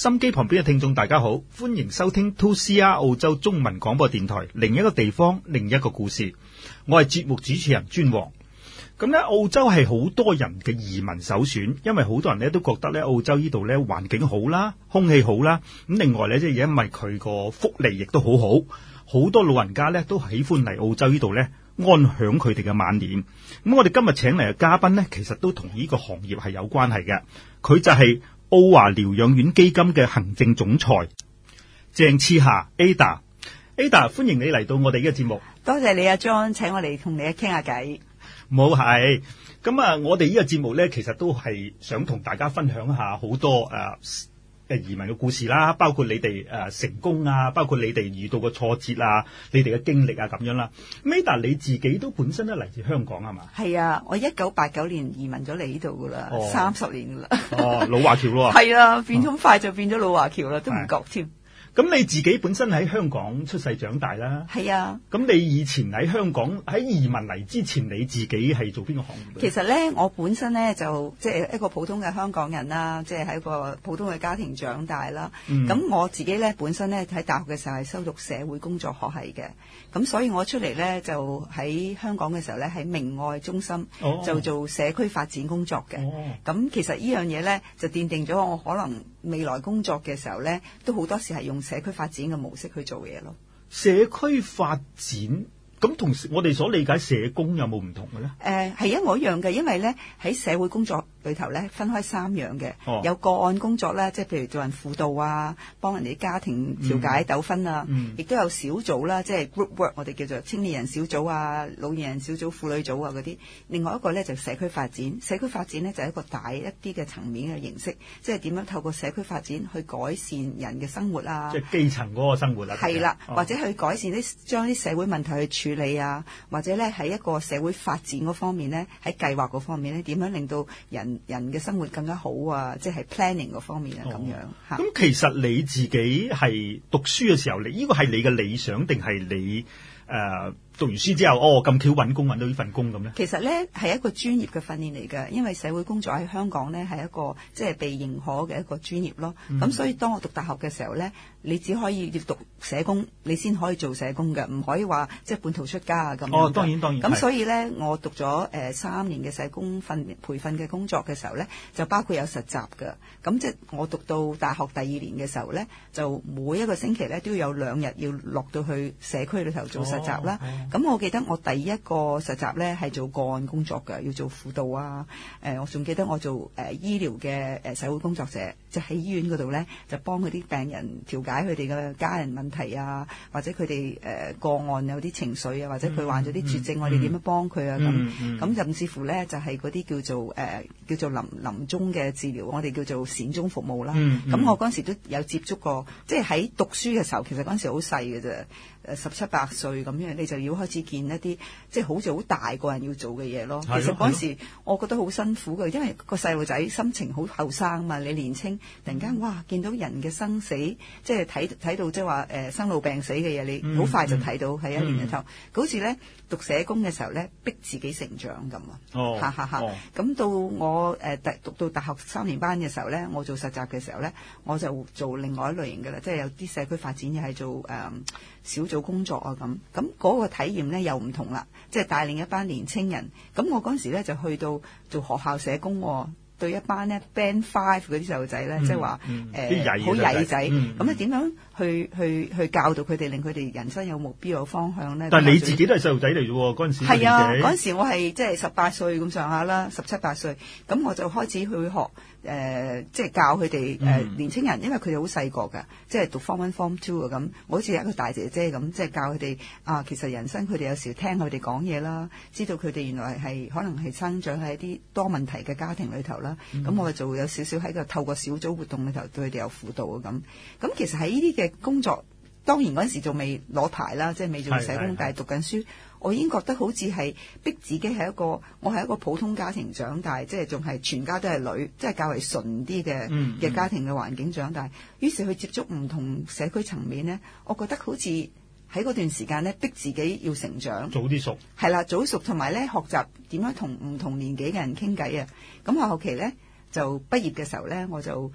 心機旁邊嘅聽眾大家好，歡迎收聽 2CR 澳洲中文廣播電台，另一個地方，另一個故事。我係節目主持人尊王。咁咧，澳洲係好多人嘅移民首選，因為好多人咧都覺得咧澳洲呢度咧環境好啦，空氣好啦。咁另外咧，即係因為佢個福利亦都好好，好多老人家咧都喜歡嚟澳洲呢度咧安享佢哋嘅晚年。咁我哋今日請嚟嘅嘉賓咧，其實都同呢個行業係有關係嘅。佢就係澳華療養院基金嘅行政總裁鄭賜霞 Ada。Ada， 歡迎你嚟到我哋呢個節目。 多謝你阿 John， 請我哋同你傾下偈。 冇係咁啊！我哋呢個節目咧，其實都係想同大家分享下好多移民嘅故事啦，包括你哋成功啊，包括你哋遇到嘅挫折啊，你哋嘅經歷啊咁樣啦。Ada， 你自己都本身都嚟自香港係嘛？係啊，我1989年移民咗嚟呢度噶啦，30年噶啦。 哦，老華僑咯。 係啊，變咗快就變咗老華僑啦，都唔覺添。 咁你自己本身喺香港出世長大啦， 係啊。咁你以前喺香港喺移民嚟之前，你自己係做邊個行業？ 其實咧，我本身咧就即係一個普通嘅香港人啦，即係喺一個普通嘅家庭長大啦。咁我自己咧本身咧喺大學嘅時候係修讀社會工作學系嘅，咁所以我出嚟咧就喺香港嘅時候咧喺明愛中心就做社區發展工作嘅。咁其實呢樣嘢咧就奠定咗我可能未來工作嘅時候咧都好多時係用社區發展嘅模式去做嘢咯。 社區發展咁同我哋所理解社工有冇唔同嘅咧？ 係一模一樣嘅，因為咧喺社會工作裏頭咧分開3樣嘅，有個案工作啦，即係譬如做人輔導啊，幫人哋家庭調解糾紛啊，亦都有小組啦，即係 group work， 我哋叫做青年人小組啊、老年人小組、婦女組啊嗰啲。另外一個咧就社區發展，社區發展咧就係一個大一啲嘅層面嘅形式，即係點樣透過社區發展去改善人嘅生活啊，即係基層嗰個生活啊。 係啦，或者去改善將啲社會問題去處理啊，或者咧喺一個社會發展嗰方面咧，喺計劃嗰方面咧，點樣令到人嘅生活更加好啊！即係 planning 嗰方面啊，咁樣嚇。 咁其實你自己係讀書嘅時候，呢個係你嘅理想定係你讀完書之後咁巧揾工揾到呢份工咁咧？ 其實咧係一個專業嘅訓練嚟嘅，因為社會工作喺香港咧係一個即係被認可嘅一個專業咯。咁所以當我讀大學嘅時候咧，你只可以要讀社工，你先可以做社工嘅，唔可以話即係半途出家啊咁樣。 當然。 咁所以咧，我讀咗3年嘅社工培訓嘅工作嘅時候咧，就包括有實習嘅。咁即係我讀到大學第2年嘅時候咧，就每一個星期咧都要有2日要落到去社區裏頭做實習啦。咁我記得我第一個實習咧係做個案工作嘅，要做輔導啊。我仲記得我做醫療嘅社會工作者，就喺醫院嗰度咧就幫嗰啲病人調解佢哋嘅家人問題啊，或者佢哋個案有啲情緒啊，或者佢患咗啲絕症，我哋點樣幫佢啊咁甚至乎咧就係嗰啲叫做臨終嘅治療，我哋叫做善終服務啦。咁我嗰陣時都有接觸過，即係喺讀書嘅時候，其實嗰陣時好細嘅啫。17、18歲咁樣，你就要開始見一啲即係好似好大個人要做嘅嘢咯。其實嗰陣時我覺得好辛苦嘅，因為個細路仔心情好後生嘛，你年青，突然間哇見到人嘅生死，即係睇到即係話生老病死嘅嘢，你好快就睇到喺一年裏頭。好似咧讀社工嘅時候咧，逼自己成長咁啊！咁到我讀到大學3年班嘅時候咧，我做實習嘅時候咧，我就做另外一類型嘅啦，即係有啲社區發展又係做小組工作啊咁嗰個體驗咧又唔同啦，即係帶領一班年青人。咁我嗰陣時咧就去到做學校社工，對一班咧 Band 5嗰啲細路仔咧，即係話好曳仔，咁你點樣去教導佢哋，令佢哋人生有目標有方向咧？ 但係你自己都係細路仔嚟啫喎，嗰陣時係啊， 嗰陣時我係即係18歲咁上下啦，17、18歲，咁我就開始去學。即係教佢哋年青人，因為佢哋好細個㗎，即係讀 Form 1、Form 2咁。我好似一個大姐姐咁，即係教佢哋其實人生佢哋有時聽佢哋講嘢啦，知道佢哋原來係可能係生長喺一啲多問題嘅家庭裏頭啦。咁我就有少少喺個透過小組活動裏頭對佢哋有輔導啊咁。咁其實喺呢啲嘅工作，當然嗰陣時仲未攞牌啦，即係未做社工，但係讀緊書。我已經覺得好似係逼自己係我係一個普通家庭長大，即係仲係全家都係女，即係較為純啲嘅家庭嘅環境長大。於是去接觸唔同社區層面呢，我覺得好似喺嗰段時間呢，逼自己要成長， 早啲熟係啦，早熟同埋咧學習點樣同唔同年紀嘅人傾偈啊。咁我後期呢，就畢業嘅時候呢，我就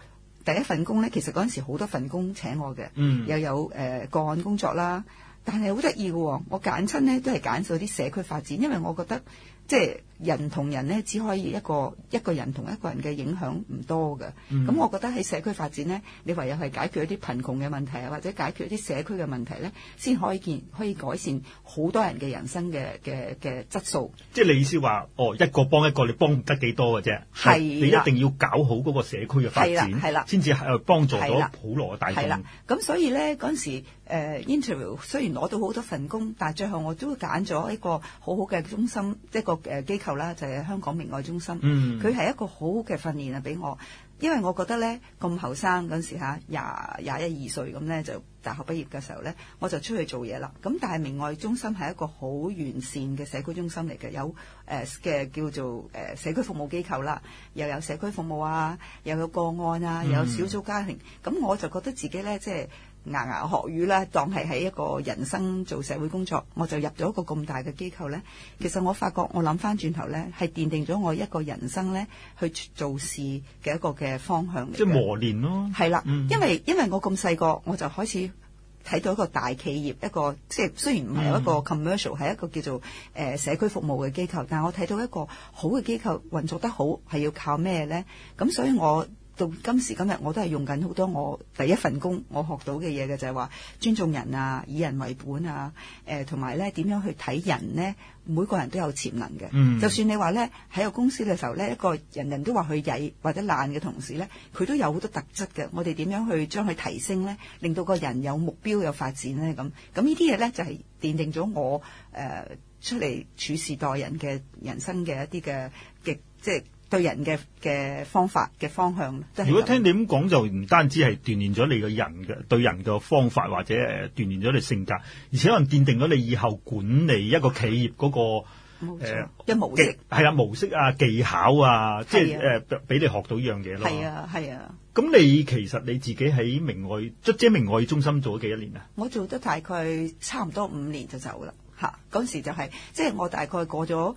第一份工咧，其實嗰陣時好多份工請我嘅，又有個案工作啦，但係好得意嘅喎，我揀親咧都係揀咗啲社區發展，因為我覺得即係人同人咧，只可以一個人同一個人嘅影響唔多嘅。咁我覺得喺社區發展咧，你唯有係解決一啲貧窮嘅問題啊，或者解決一啲社區嘅問題咧，先可以改善好多人嘅人生嘅質素。 即係你意思話，一個幫一個，你幫唔得幾多嘅啫。係，你一定要搞好嗰個社區嘅發展，係啦，先至係幫助到普羅嘅大眾。係啦， 咁所以咧嗰陣時interview 雖然攞到好多份工，但係最後我都揀咗一個好好嘅中心，一個機構啦，就係香港明愛中心。佢係一個好好嘅訓練啊，俾我，因為我覺得咧咁後生嗰陣時嚇21-22歲咁咧，就大學畢業嘅時候咧，我就出去做嘢啦。咁但係明愛中心係一個好完善嘅社區中心嚟嘅，有嘅叫做社區服務機構啦，又有社區服務啊，又有個案啊，又有小組家庭。咁我就覺得自己咧即係牙學語啦，當係喺一個人生做社會工作，我就入咗一個咁大嘅機構咧。其實我發覺我諗翻轉頭咧，係奠定咗我一個人生咧去做事嘅一個嘅方向嚟嘅。即係磨練咯。係啦，因為我咁細個，我就開始睇到一個大企業，一個即係雖然唔係一個 commercial，係一個叫做社區服務嘅機構，但係我睇到一個好嘅機構運作得好係要靠咩咧？咁所以我到今時今日我都係用緊好多我第一份工我學到嘅嘢嘅，就係話尊重人啊，以人為本啊，同埋咧點樣去睇人呢？每個人都有潛能嘅。就算你話咧喺個公司嘅時候咧，一個人人都話佢曳或者懶嘅同事咧，佢都有好多特質嘅。我哋點樣去將佢提升咧，令到個人有目標有發展咧？咁呢啲嘢咧就係奠定咗我出嚟處事待人嘅人生嘅一啲嘅即係對人嘅方法嘅方向。 如果聽你咁講，就唔單止係鍛鍊咗你個人嘅對人嘅方法，或者鍛鍊咗你性格，而且可能奠定咗你以後管理一個企業嗰個模式， 係啦，模式啊，技巧啊，即係俾你學到呢樣嘢咯。 係啊，係啊。 咁你其實你自己喺明愛中心做咗幾多年啊？ 我做得大概差唔多5年就走啦。嗰時就係即係我大概過咗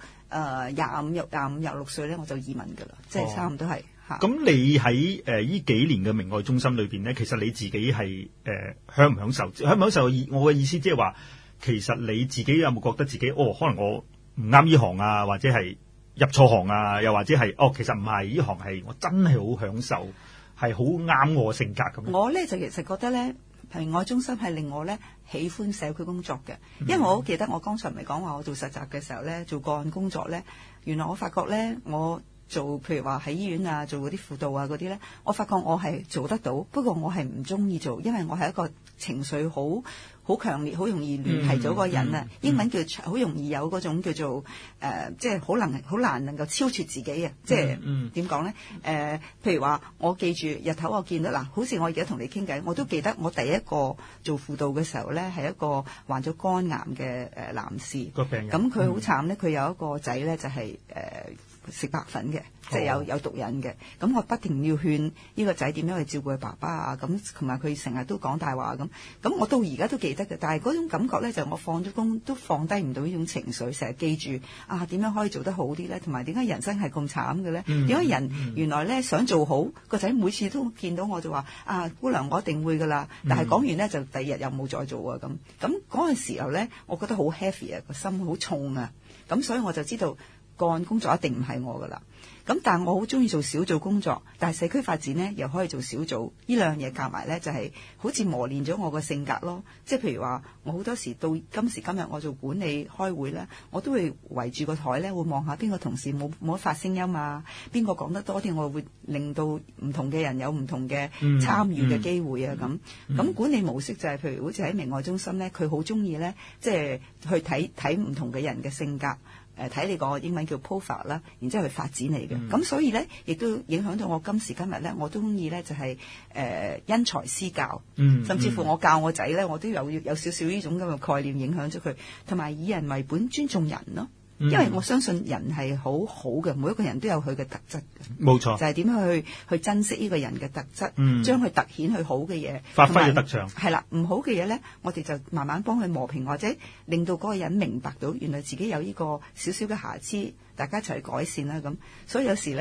25-26歲咧，我就移民㗎啦，即係差唔多係嚇。咁你喺呢幾年嘅明愛中心裏邊咧，其實你自己係享唔享受？享唔享受？我嘅意思即係話，其實你自己有冇覺得自己可能我唔啱呢行啊，或者係入錯行啊，又或者係其實唔係呢行係我真係好享受，係好啱我性格咁。 我咧就其實覺得咧，明愛中心係令我咧喜歡社區工作嘅，因為我好記得我剛才唔係講話我做實習嘅時候咧，做個案工作咧，原來我發覺咧，我做譬如話喺醫院啊，做嗰啲輔導啊嗰啲咧，我發覺我係做得到，不過我係唔中意做，因為我係一個情緒好強烈，好容易聯繫咗個人啊。英文叫好容易有嗰種叫做即係好難能夠超脫自己啊！即係點講咧？譬如話我記住日頭我見到嗱，好似我而家同你傾偈，我都記得我第一個做輔導嘅時候咧，係一個患咗肝癌嘅男士個病人。咁佢好慘咧，佢有一個仔咧就係食白粉嘅，即係有毒癮嘅。咁我不停要勸呢個仔點樣去照顧佢爸爸啊，咁同埋佢成日都講大話咁。咁我到而家都記得嘅，但係嗰種感覺咧，就我放咗工都放低唔到呢種情緒，成日記住啊點樣可以做得好啲咧，同埋點解人生係咁慘嘅咧？點解人原來咧想做好個仔，每次都見到我就話啊姑娘我一定會噶啦，但係講完咧就第二日又冇再做啊咁。咁嗰陣時候咧，我覺得好 heavy 啊，個心好重啊，咁所以我就知道個案工作一定唔係我噶啦。咁但係我好中意做小組工作，但係社區發展呢又可以做小組，呢兩樣嘢夾埋呢，就係好似磨練咗我個性格咯。即係譬如話，我好多時到今時今日我做管理開會呢，我都會圍住個台呢，會望下邊個同事冇得發聲音啊，邊個講得多啲，我會令到唔同嘅人有唔同嘅參與嘅機會啊咁。咁管理模式就係譬如好似喺明愛中心呢，佢好中意呢，即係去睇唔同嘅人嘅性格。睇你個英文叫 profile 啦，然之後去發展你嘅，咁所以咧，亦都影響到我今時今日咧，我都中意咧就係因材施教，甚至乎我教我仔咧，我都有少少呢種咁嘅概念影響咗佢，同埋以人為本，尊重人咯。因為我相信人係好好嘅，每一個人都有佢嘅特質嘅，冇錯，就係點樣去珍惜呢個人嘅特質，將佢凸顯佢好嘅嘢， 發揮佢特長。係啦，唔好嘅嘢咧，我哋就慢慢幫佢磨平，或者令到嗰個人明白到原來自己有呢個少少嘅瑕疵，大家一齊去改善啦咁。所以有時咧，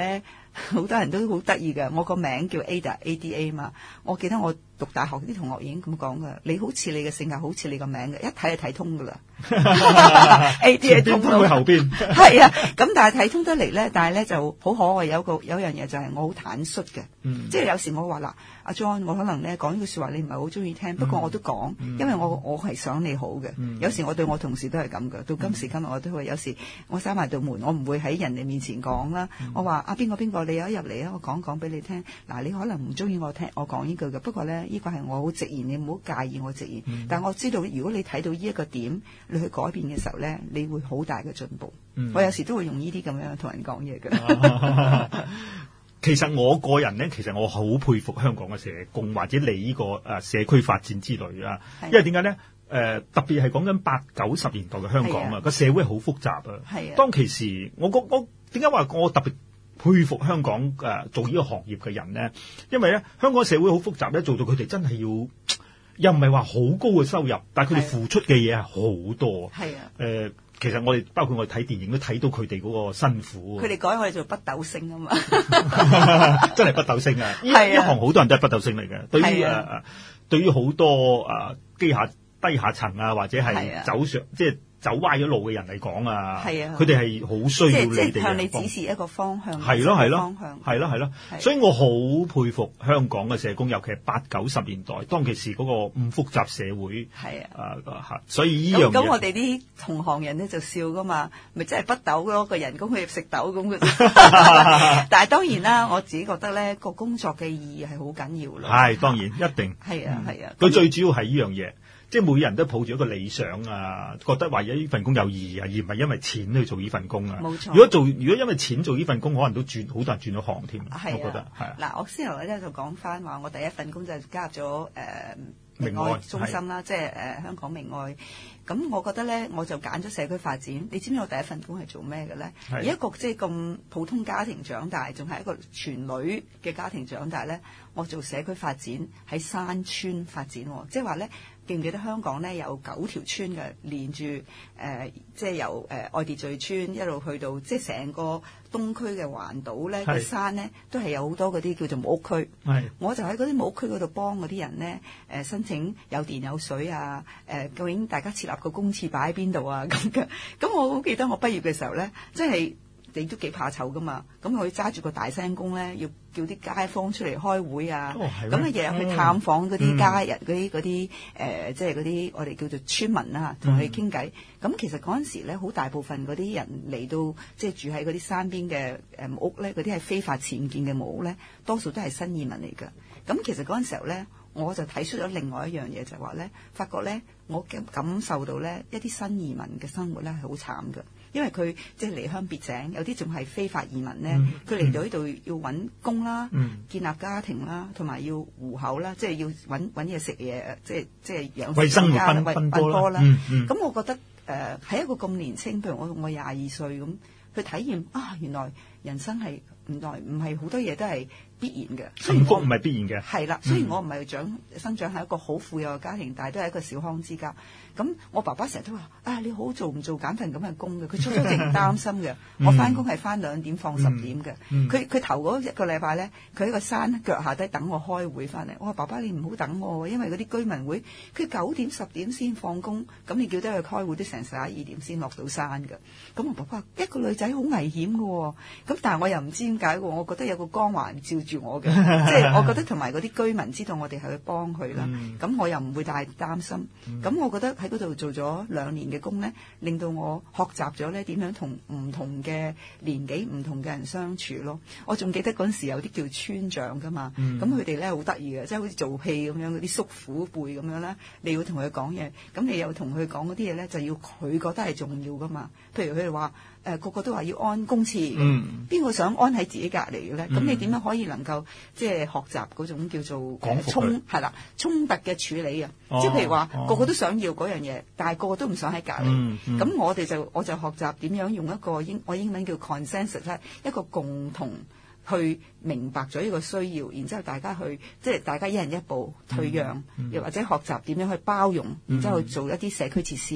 好多人都好得意㗎。我個名叫 Ada 嘛，我記得我讀大學啲同學已經咁講㗎，你好似你嘅性格好似你個名嘅，一睇就睇通㗎啦。Ada 通到後邊係啊，咁但係睇通得嚟咧，但係咧就好可愛，有樣嘢就係我好坦率嘅，即係有時我話嗱，阿 John， 我可能咧講呢句説話你唔係好中意聽，不過我都講，因為我係想你好嘅。有時我對我同事都係咁嘅，到今時今日我都會有時我閂埋道門，我唔會喺人哋面前講啦。我話啊邊個你有一入嚟啊，我講俾你聽。嗱，你可能唔中意我聽我講呢句嘅，不過咧呢個係我好直言，你唔好介意我直言。但係我知道如果你睇到呢一個點，你去改變嘅時候咧，你會好大嘅進步。我有時都會用呢啲咁樣同人講嘢嘅。 其實我個人咧，其實我好佩服香港嘅社工或者你呢個社區發展之類啊，因為點解咧？特別係講緊80、90年代嘅香港啊，個社會好複雜啊。當其時，我點解話我特別佩服香港做呢個行業嘅人咧？因為咧，香港社會好複雜咧，做到佢哋真係又唔係話好高嘅收入，但係佢哋付出嘅嘢係好多。係啊。其實我哋包括我哋睇電影都睇到佢哋嗰個辛苦。佢哋改我哋做北斗星啊嘛，真係北斗星啊！呢行好多人都係北斗星嚟嘅。對於好多低下層啊，或者係走上即係走歪咗路嘅人嚟講啊，佢哋係好需要你哋向你指示一個方向。係咯，所以我好佩服香港嘅社工，尤其係80、90年代當其時嗰個咁複雜社會。所以呢樣嘢咁我哋啲同行人咧就笑噶嘛，咪真係北斗咯，個人工佢食豆咁嘅。但係當然啦，我自己覺得咧個工作嘅意義係好緊要咯。係當然一定係啊。佢最主要係呢樣嘢。即係每人都抱住一個理想啊，覺得話呢份工有意義啊，而唔係因為錢去做呢份工啊。冇錯。如果因為錢做呢份工，可能都好多人轉咗行添。我覺得係。嗱，我先頭咧就講翻話，我第一份工就加入咗明愛中心啦，即係香港明愛。咁我覺得咧，我就揀咗社區發展。你知唔知我第一份工係做咩嘅咧？而一個即係咁普通家庭長大，仲係一個全女嘅家庭長大咧，我做社區發展喺山村發展，即係話咧。記唔記得香港咧有9條村嘅，連住即係由愛秩序村一路去到即係成個東區嘅環島咧嘅山咧，都係有好多嗰啲叫做木屋區。我就喺嗰啲木屋區嗰度幫嗰啲人咧申請有電有水啊，究竟大家設立個公廁擺喺邊度啊咁嘅。咁我好記得我畢業嘅時候咧，即係你都幾怕醜噶嘛，咁我揸住個大聲公咧要叫啲街坊出嚟開會啊，咁啊日日去探訪嗰啲家人，嗰啲即係嗰啲我哋叫做村民啊，同佢傾偈。咁其實嗰陣時咧，好大部分嗰啲人嚟到即係住喺嗰啲山邊嘅木屋咧，嗰啲係非法僭建嘅木屋咧，多數都係新移民嚟㗎。咁其實嗰陣時候咧，我就睇出咗另外一樣嘢，就係話咧，發覺咧，我感受到咧，一啲新移民嘅生活咧係好慘㗎。因為佢即係離鄉別井，有啲仲係非法移民咧。佢嚟到呢度要揾工啦，建立家庭啦，同埋要糊口啦，即係要揾嘢食嘢，即係養活生家奔波啦。咁我覺得喺一個咁年輕，譬如我22歲咁去體驗啊，原來人生係唔係好多嘢都係必然嘅，幸福唔係必然嘅。係啦，雖然我唔係生長喺一個好富有嘅家庭，但係都係一個小康之家。咁我爸爸成日都話你好做唔做揀份咁嘅工嘅？佢初初勁擔心嘅。我翻工係翻2點放10點嘅。佢頭嗰1個禮拜咧，佢喺個山腳下低等我開會翻嚟。我話爸爸你唔好等我，因為嗰啲居民會佢9點10點先放工，咁你叫得佢開會都成11-12點先落到山嘅。咁我爸爸話一個女仔好危險嘅，咁但係我又唔知點解，我覺得有個光環照住我嘅，即係我覺得同埋嗰啲居民知道我哋係去幫佢啦。咁我又唔會太擔心。咁我覺得喺嗰度做咗2年嘅工咧，令到我學習咗咧點樣同唔同嘅年紀唔同嘅人相處咯。我仲記得嗰陣時有啲叫村長噶嘛，咁佢哋咧好得意嘅，即係好似做戲咁樣，嗰啲叔父輩咁樣啦。你要同佢講嘢，咁你又同佢講嗰啲嘢咧，就要佢覺得係重要噶嘛。譬如佢哋話個個都話要安公廁，邊個想安喺自己隔離嘅咧？咁你點樣可以能夠即係學習嗰種叫做衝突嘅處理啊？即係譬如話個個都想要嗰樣嘢，但係個個都唔想喺隔離。咁我就學習點樣用一個我英文叫 consensus 咧，一個共同去明白咗呢個需要，然之後大家去即係大家一人一步退讓，又或者學習點樣去包容，然之後去做一啲社區設施嘅。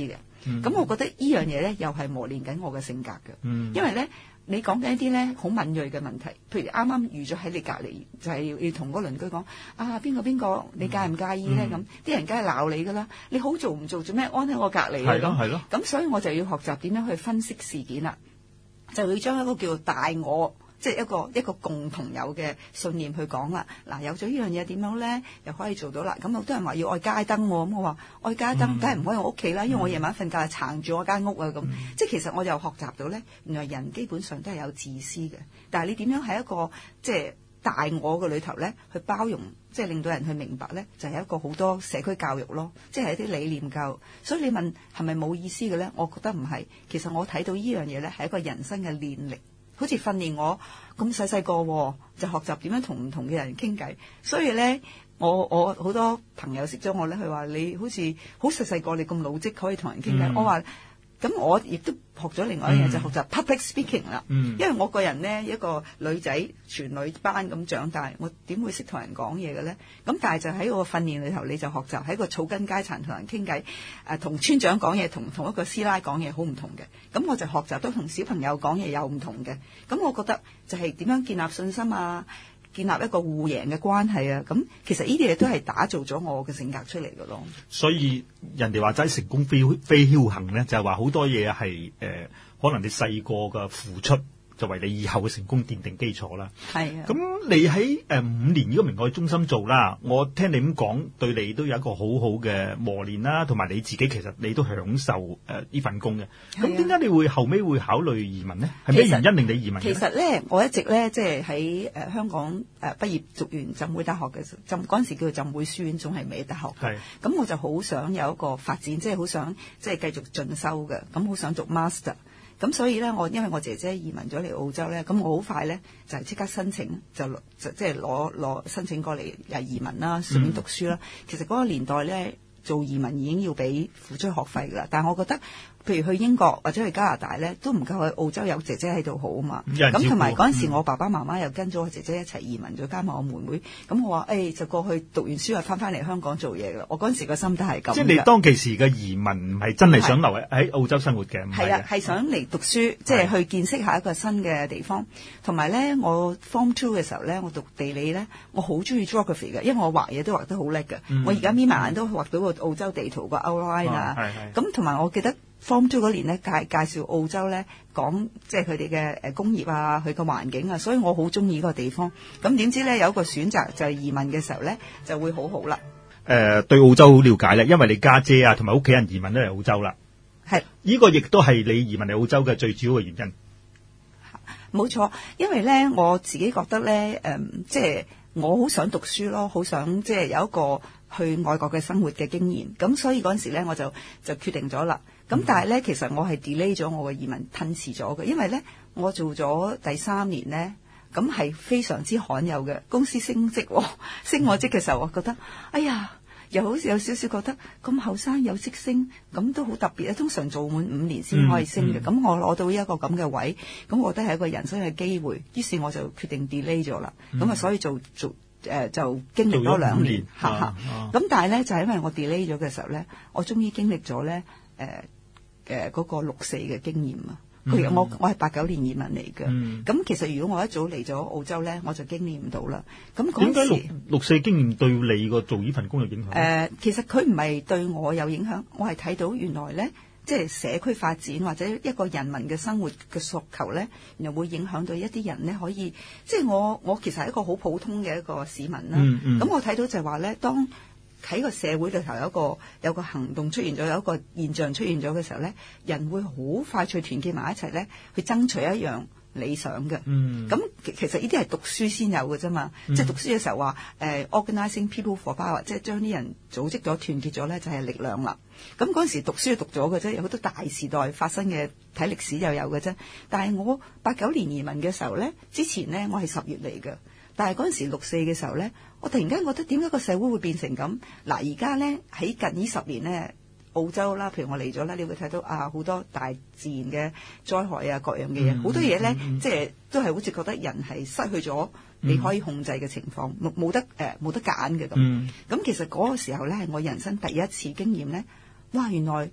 咁我覺得呢樣嘢咧又係磨練緊我嘅性格嘅，因為咧你講緊一啲咧好敏銳嘅問題，譬如啱啱遇咗喺你隔離，就係要同嗰個鄰居講啊邊個你介唔介意咧？咁啲人梗係鬧你噶啦，你好做唔做咩安喺我隔離啊？ 係咯， 咁所以我就要學習點樣去分析事件啦，就要將一個叫做大我。即係一個共同有嘅信念去講啦。嗱，有咗呢樣嘢點樣咧，又可以做到啦。咁好多人話要愛街燈喎，咁我話愛街燈梗係唔可以我屋企啦，因為我夜晚瞓覺係撐住我間屋啊咁。即係其實我又學習到咧，原來人基本上都係有自私嘅，但係你點樣喺一個即係大我嘅裏頭咧，去包容，即係令到人去明白咧，就係一個好多社區教育咯，即係一啲理念教育。所以你問係咪冇意思嘅咧？我覺得唔係。其實我睇到呢樣嘢咧，係一個人生嘅練力。好似訓練我咁細個就學習點樣同唔同嘅人傾偈，所以咧我好多朋友識咗我咧，佢話你好似好細個你咁老積可以同人傾偈。我話咁我亦都學咗另外一樣嘢，就學習 public speaking 啦。因為我個人咧一個女仔全女班咁長大，我點會識同人講嘢嘅咧？咁但係就喺我訓練裏頭，你就學習喺個草根階層同人傾偈，同村長講嘢，同一個師奶講嘢好唔同嘅。咁我就學習都同小朋友講嘢有唔同嘅。咁我覺得就係點樣建立信心啊，建立一個互贏嘅關係啊。咁其實呢啲嘢都係打造咗我嘅性格出嚟嘅咯。 所以人哋話齋成功非僥倖咧，就係話好多嘢係可能你細個嘅付出就為你以後嘅成功奠定基礎啦。係啊。咁你喺5年呢個明愛中心做啦，我聽你咁講，對你都有一個好好嘅磨練啦，同埋你自己其實你都享受呢份工嘅。咁點解你會後尾會考慮移民呢？係咩原因令你移民？其實咧，我一直咧即係喺香港畢業讀完浸會大學嘅時候，嗰陣時叫做浸會書院，仲係未大學。係。咁我就好想有一個發展，即係好想即係繼續進修嘅，咁好想讀 master。咁所以咧，因為我姐姐移民咗嚟澳洲咧，咁我好快咧就係即刻申請，就即係攞申請過嚟移民啦，順便讀書啦。其實嗰個年代咧，做移民已經要俾付出學費噶啦，但係我覺得，譬如去英國或者去加拿大咧，都唔夠去澳洲有姐姐喺度好啊嘛。咁同埋嗰陣時，我爸爸媽媽又跟咗我姐姐一齊移民咗，加埋我妹妹。咁我話就過去讀完書又翻嚟香港做嘢噶啦。我嗰陣時個心態係咁。即係你當其時嘅移民唔係真係想留喺澳洲生活嘅，係啊，係想嚟讀書，即係去見識下一個新嘅地方。同埋咧，我 Form 2嘅時候咧，我讀地理咧，我好中意 geography 嘅，因為我畫嘢都畫得好叻嘅。我而家眯埋眼都畫到個澳洲地圖個 outline 啊。咁同埋我記得。Form 2嗰年咧介紹澳洲咧，講即係佢哋嘅工業啊，佢個環境啊，所以我好中意嗰個地方。咁點知咧有一個選擇就係移民嘅時候咧就會好好啦。對澳洲好了解咧，因為你家姐啊同埋屋企人移民都嚟澳洲啦。係呢個亦都係你移民嚟澳洲嘅最主要嘅原因。冇錯，因為咧我自己覺得咧即係我好想讀書咯，好想即係有一個去外國嘅生活嘅經驗。咁所以嗰陣時咧我就決定咗啦。咁但係咧，其實我係 delay 咗我嘅移民，褪遲咗嘅，因為咧我做咗第3年咧，咁係非常之罕有嘅。公司升職，升我職嘅時候，我覺得，哎呀，又好似有少少覺得咁後生有職升，咁都好特別啊！通常做滿5年先可以升嘅，咁我攞到一個咁嘅位，咁我覺得係一個人生嘅機會，於是我就決定 delay 咗啦。咁所以就經歷咗2年，咁但係咧就係因為我 delay 咗嘅時候咧，我終於經歷咗咧嗰個6-4嘅經驗啊！我係89年移民嚟嘅，咁其實如果我一早嚟咗澳洲咧，我就經歷唔到啦。咁點解6-4經驗對你個做呢份工有影響？其實佢唔係對我有影響，我係睇到原來咧，即係社區發展或者一個人民嘅生活嘅訴求咧，然後會影響到一啲人咧可以，即係我其實係一個好普通嘅一個市民啦。咁我睇到就係話咧，當喺個社會裏頭有個行動出現咗，有一個現象出現咗嘅時候咧，人會好快脆團結埋一齊咧，去爭取一樣理想嘅。咁其實呢啲係讀書先有嘅啫嘛。即係讀書嘅時候話organizing people for power，即係將啲人組織咗、團結咗咧，就係力量啦。咁嗰陣時讀書就讀咗嘅啫，有好多大時代發生嘅，睇歷史就有嘅啫。但係我89年移民嘅時候咧，之前咧我係10月嚟嘅。但係嗰陣時6-4嘅時候咧，我突然間覺得點解個社會會變成咁？嗱，而家咧喺近呢10年咧，澳洲啦，譬如我嚟咗啦，你會睇到好多大自然嘅災害啊，各樣嘅嘢，好多嘢咧，即係都係好似覺得人係失去咗你可以控制嘅情況，冇得揀嘅咁。咁其實嗰個時候咧係我人生第一次經驗咧，哇！原來第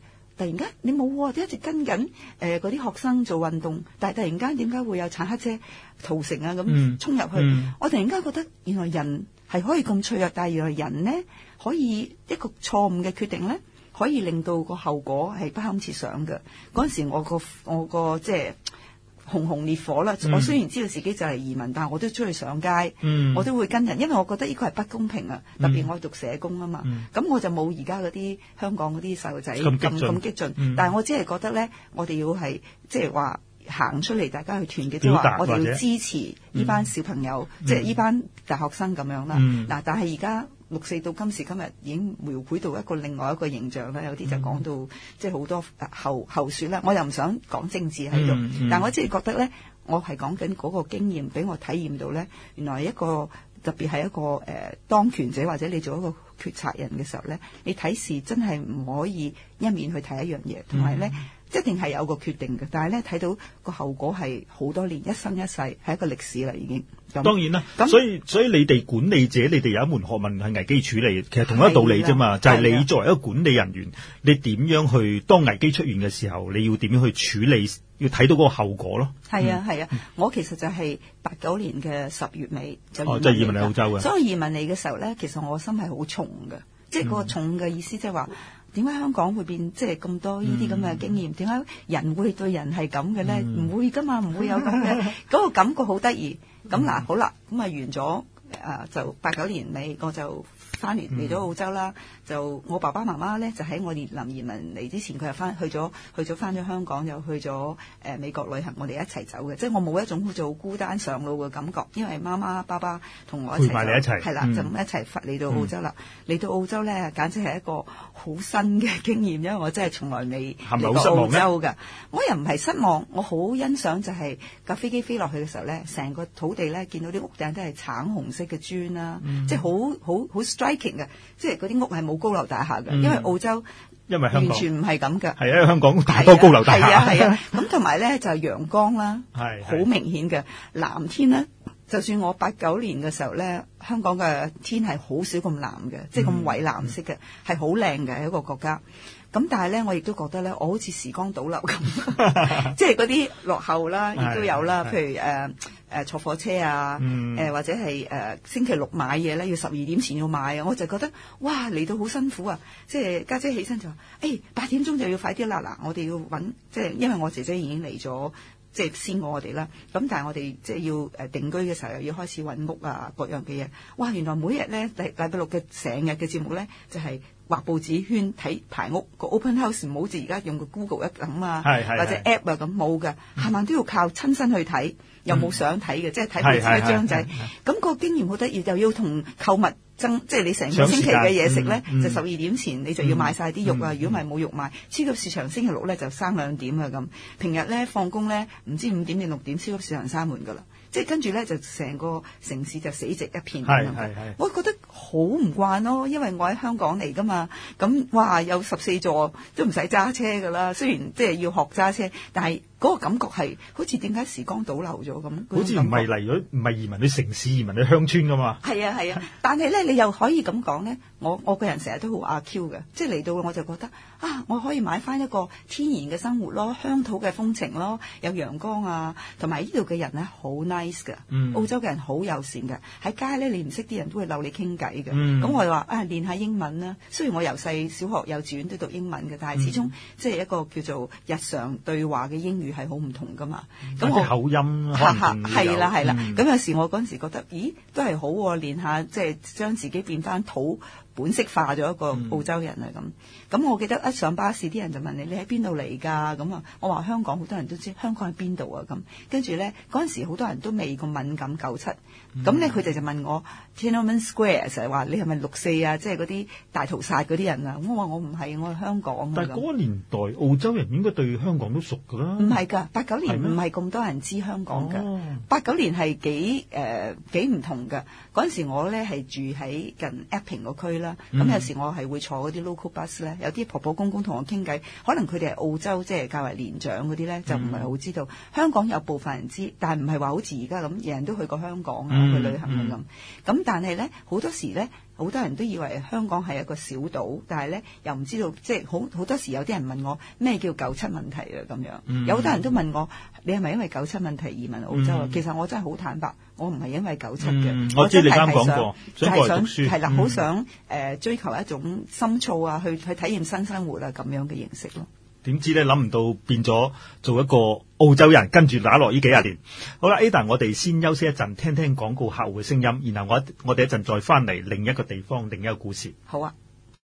突然間你冇喎，一直跟緊嗰啲學生做運動，但係突然間點解會有坦克車屠城啊咁衝入去？我突然間覺得原來人係可以咁脆弱，但係原來人呢可以一個錯誤嘅決定呢，可以令到個後果係不堪設想嘅。嗰陣時我個即係熊熊烈火啦！我雖然知道自己就係移民，但係我都出去上街，我都會跟人，因為我覺得呢個係不公平啊！特別我讀社工啊嘛，咁我就冇而家嗰啲香港嗰啲細路仔咁激進，但係我只係覺得咧，我哋要係即係話行出嚟，大家去團結，即係話我哋要支持呢班小朋友，即係呢班大學生咁樣啦。嗱，但係而家6·4到今時今日已經描繪到一個另外一個形象啦，有啲就講到即係好多後說啦。我又唔想講政治喺度，但我即係覺得咧，我係講緊嗰個經驗俾我體驗到咧，原來一個特別係一個當權者或者你做一個決策人嘅時候咧，你睇事真係唔可以一面去睇一樣嘢，同埋咧一定係有個決定嘅。但係咧睇到個後果係好多年，一生一世係一個歷史啦已經。 當然啦，所以你哋管理者，你哋有一門學問係危機處理，其實同一個道理啫嘛，就係你作為一個管理人員，你點樣去當危機出現嘅時候，你要點樣去處理，要睇到嗰個後果咯。係啊，我其實就係89年嘅10月尾就移民嚟澳洲嘅。所以移民嚟嘅時候咧，其實我心係好重嘅，即係嗰個重嘅意思，即係話點解香港會變即係咁多呢啲咁嘅經驗？點解人會對人係咁嘅咧？唔會噶嘛，唔會有咁嘅嗰個感覺好得意。咁嗱，好啦，咁啊完咗就89年尾，我就翻嚟咗澳洲啦。就我爸爸媽媽咧，就喺我哋臨移民嚟之前，佢又去咗翻咗香港，又去咗美國旅行，我哋一齊走嘅。即係我冇一種好似好孤單上路嘅感覺，因為媽媽爸爸同我一齊陪埋你一齊，係啦，就一齊嚟到澳洲啦。嚟到澳洲咧，簡直係一個好新嘅經驗，因為我真係從來未嚟過澳洲㗎。我又唔係失望，我好欣賞就係架飛機飛落去嘅時候咧，成個土地咧見到啲屋頂都係橙紅色嘅磚啦，即係好 striking 嘅，即係嗰啲屋係冇高樓大廈嘅，因為澳洲完全唔係咁嘅。係啊，香港大多高樓大廈。係啊，咁同埋咧就係陽光啦，好明顯嘅藍天咧。就算我89年嘅時候咧，香港嘅天係好少咁藍嘅，即係咁蔚藍色嘅，係好靚嘅一個國家。咁但係咧，我亦都覺得咧，我好似時光倒流咁，即係嗰啲落後啦，亦都有啦。譬如坐火車啊，或者係星期六買嘢咧，要12點前要買啊，我就覺得哇嚟到好辛苦啊！即係家姐起身就話：8點鐘就要快啲啦！嗱，我哋要揾，即係因為我姐姐已經嚟咗。即係先過我哋啦，咁但係我哋即係要定居嘅時候，又要開始揾屋啊，各樣嘅嘢。哇！原來每日咧禮拜六嘅成日嘅節目咧，就係畫報紙圈睇排屋個 open house，唔好似而家用個 Google 一咁啊，或者 app 啊咁冇嘅，係咪都要靠親身去睇，又冇相睇嘅，即係睇報紙一張仔。咁個經驗好得意，又要同購物。即係你成個星期嘅嘢食咧，就12點前你就要買晒啲肉啊！如果唔係冇肉賣，超級市場星期六咧就閂2點啊咁。平日咧放工咧唔知5點定6點，超級市場閂門噶啦。即係跟住咧就成個城市就死寂一片。我覺得好唔慣咯，因為我喺香港嚟噶嘛。咁哇有14座都唔使揸車噶啦。雖然即係要學揸車，但係嗰個感覺係好似點解時光倒流咗咁？好似唔係嚟咗，唔係移民去城市，移民去鄉村噶嘛？係啊，但係咧你又可以咁講咧，我個人成日都好阿 Q 嘅，即係嚟到我就覺得我可以買翻一個天然嘅生活咯，鄉土嘅風情咯，有陽光啊，同埋呢度嘅人咧好 nice 嘅，澳洲嘅人好友善嘅，喺街咧你唔識啲人都會溜你傾偈嘅。咁我就話練下英文啦。雖然我由細小學幼稚園都讀英文嘅，但係始終即係一個叫做日常對話嘅英語係好唔同噶嘛。咁我口音係啦。咁有時我嗰陣時覺得，咦都係好喎，練下即係將自己變翻土本色化咗一個澳洲人啊咁。咁我記得一上巴士啲人就問你喺邊度嚟㗎？咁啊，我話香港，好多人都知香港喺邊度啊咁。跟住咧嗰陣時好多人都未咁敏感97。咁咧佢哋就問我 Tiananmen Square，成日話你係咪6·4啊？即係嗰啲大屠殺嗰啲人啊？我話我唔係，我係香港。但係嗰個年代澳洲人應該對香港都熟㗎啦。唔係㗎，89年唔係咁多人知香港㗎。89年係幾唔同㗎。嗰陣時我咧係住喺近 Epping 個區啦。咁有時我係會坐嗰啲 local bus 咧，有啲婆婆公公同我傾偈，可能佢哋係澳洲即係較為年長嗰啲咧，就唔係好知道。香港有部分人知，但係唔係話好似而家咁，人人都去過香港啊。去旅行咁，但係咧好多時咧， 好多人都以為香港係一個小島，但係咧又唔知道，即係好多時有啲人問我咩叫97問題啊咁樣。有好多人都問我，你係咪因為97問題移民澳洲啊？其實我真係好坦白，我唔係因為97嘅。 我知你啱講過， 就係想讀書係啦，好想追求一種深造啊，去體驗新生活啊咁樣嘅形式咯。 點知咧諗唔到變咗做一個澳洲人，跟住打落呢幾廿年。好啦 ，Ada， 我哋先休息一陣，聽聽廣告客戶嘅聲音，然後我哋一陣再翻嚟另一個地方，另一個故事。 好啊。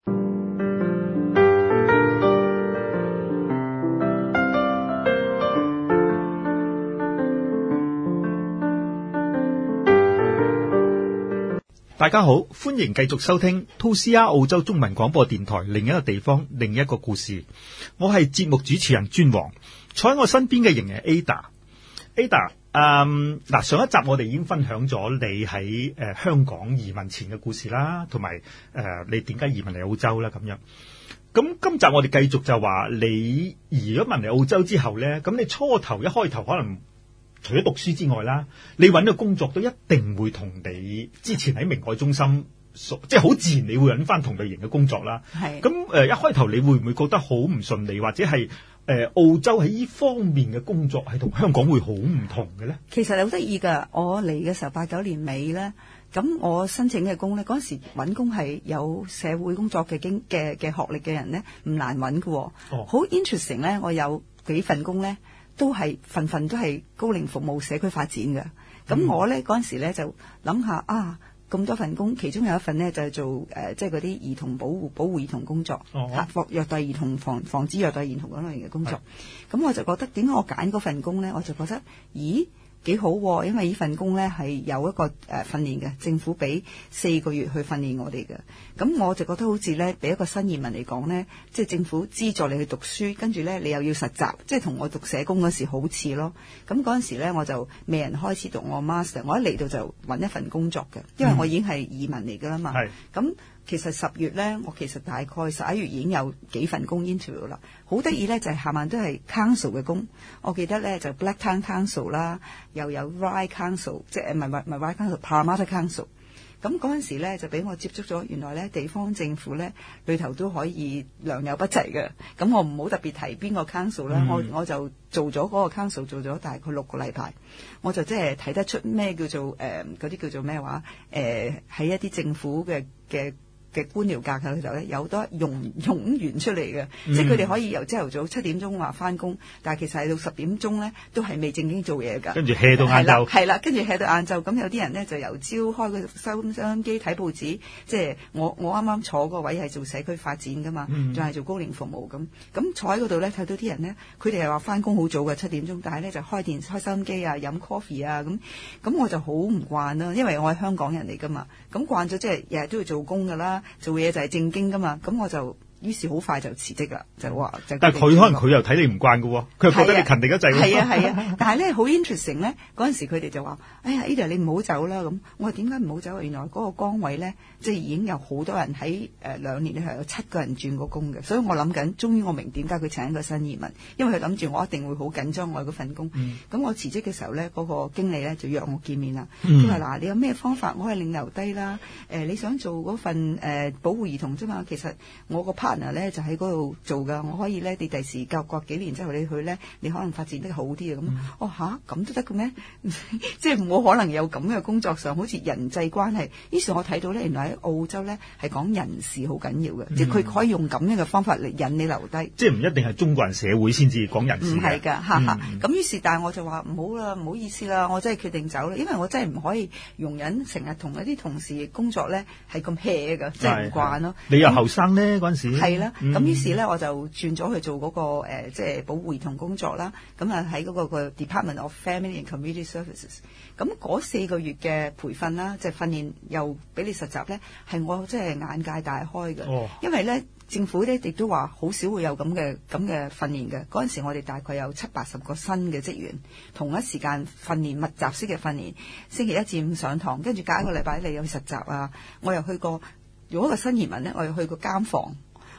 大家好，歡迎繼續收聽 2CR 澳洲中文廣播電台另一個地方，另一個故事。我係節目主持人尊王，坐喺我身邊嘅仍係 Ada。Ada，嗱，上一集我哋已經分享咗你喺香港移民前嘅故事啦，同埋你點解移民嚟澳洲啦咁樣。咁今集我哋繼續就話你移咗民嚟澳洲之後咧，咁你一開頭可能除咗讀書之外啦，你揾嘅工作都一定會同你之前喺明愛中心即係好自然，你會揾翻同類型嘅工作啦。係咁一開頭你會唔會覺得好唔順利，或者係澳洲喺呢方面嘅工作係同香港會好唔同嘅咧？ 其實好得意㗎，我嚟嘅時候89年尾咧，咁我申請嘅工咧，嗰陣時揾工係有社會工作嘅學歷嘅人咧，唔難揾㗎。好 interesting 咧，我有幾份工咧。都係份份都係高齡服務社區發展嘅，咁我咧嗰陣時咧就諗下啊，咁多份工，其中有一份咧就係做即係嗰啲兒童保護兒童工作，虐待兒童防止虐待兒童嗰類型嘅工作。咁我就覺得點解我揀嗰份工咧？我就覺得咦幾好喎，因為呢份工咧係有一個訓練嘅，政府俾4個月去訓練我哋嘅。咁我就覺得好似咧，俾一個新移民嚟講咧，即係政府資助你去讀書，跟住咧你又要實習，即係同我讀社工嗰時好似咯。咁嗰陣時咧，我就未人開始讀我 master， 我一嚟到就揾一份工作嘅，因為我已經係移民嚟㗎啦嘛。咁其實10月咧，我其實大概11月已經有幾份工 interview 啦。好得意咧，就係下晚都係 council 嘅工。我記得咧就 Blacktown Council 啦，又有 Ryde Council， 即係唔係 Ryde Council，Parramatta Council。咁嗰陣時咧就俾我接觸咗，原來咧地方政府咧裏頭都可以良莠不齊嘅。咁我唔好特別提邊個 council 啦，我就做咗嗰個 council 做咗大概6個禮拜，我就即係睇得出咩叫做嗰啲叫做咩話喺一啲政府嘅官僚架構裏頭咧，有好多冗員出嚟嘅，即係佢哋可以由朝頭早7點鐘話翻工，但係其實係到10點鐘咧都係未正經做嘢㗎。跟住 hea 到晏晝，係啦，跟住 hea 到晏晝。咁有啲人咧就由朝開個收音機睇報紙，即係我啱啱坐個位係做社區發展㗎嘛，仲係做高齡服務咁。咁坐喺嗰度咧睇到啲人咧，佢哋係話翻工好早嘅7點鐘，但係咧就開收音機啊，飲 coffee 啊咁我就好唔慣啦，因為我係香港人嚟㗎嘛，咁慣咗即係日日都要做工㗎啦。做嘢就係正經噶嘛，咁我就於是好快就辭職啦，就話就。但係佢可能佢又睇你唔慣噶喎，佢又覺得你勤力得滯。係啊，但係咧好 interesting 咧，嗰陣時佢哋就話：哎呀 Ada 你唔好走啦咁。我話點解唔好走啊？原來嗰個崗位咧，即係已經有好多人喺2年咧係有7個人轉過工嘅，所以我諗緊，終於我明點解佢請一個新移民，因為佢諗住我一定會好緊張我嗰份工。咁我辭職嘅時候咧，嗰個經理咧就約我見面啦。佢話嗱，你有咩方法我可以令留低啦？你想做嗰份保護兒童啫嘛？其實我個 partner 咧就喺嗰度做噶，我可以咧，你第時過幾年之後你去咧，你可能發展得好啲啊咁。咁都得嘅咩？即係冇可能有咁嘅工作上，好似人際關係。於是我睇到咧，原來喺澳洲咧係講人事好緊要嘅，即係佢可以用咁樣嘅方法嚟引你留低。即係唔一定係中國人社會先至講人事嘅。唔係㗎，咁於是，但係我就話唔好啦，唔好意思啦，我真係決定走啦，因為我真係唔可以容忍成日同一啲同事工作咧係咁 hea 㗎，即係唔慣咯。你又後生咧嗰陣時。係啦。咁於是咧，我就轉咗去做嗰個即係保護兒童工作啦。咁啊喺嗰個 Department of Family and Community Services。咁嗰4個月嘅培訓啦，即係訓練又俾你實習咧，係我即係眼界大開嘅。因為咧政府咧亦都話好少會有咁嘅訓練嘅。嗰陣時我哋大概有70-80個新嘅職員，同一時間訓練密集式嘅訓練，星期1至5上堂，跟住隔一個禮拜你又去實習啊。我又去過，如果一個新移民咧，我又去過監房。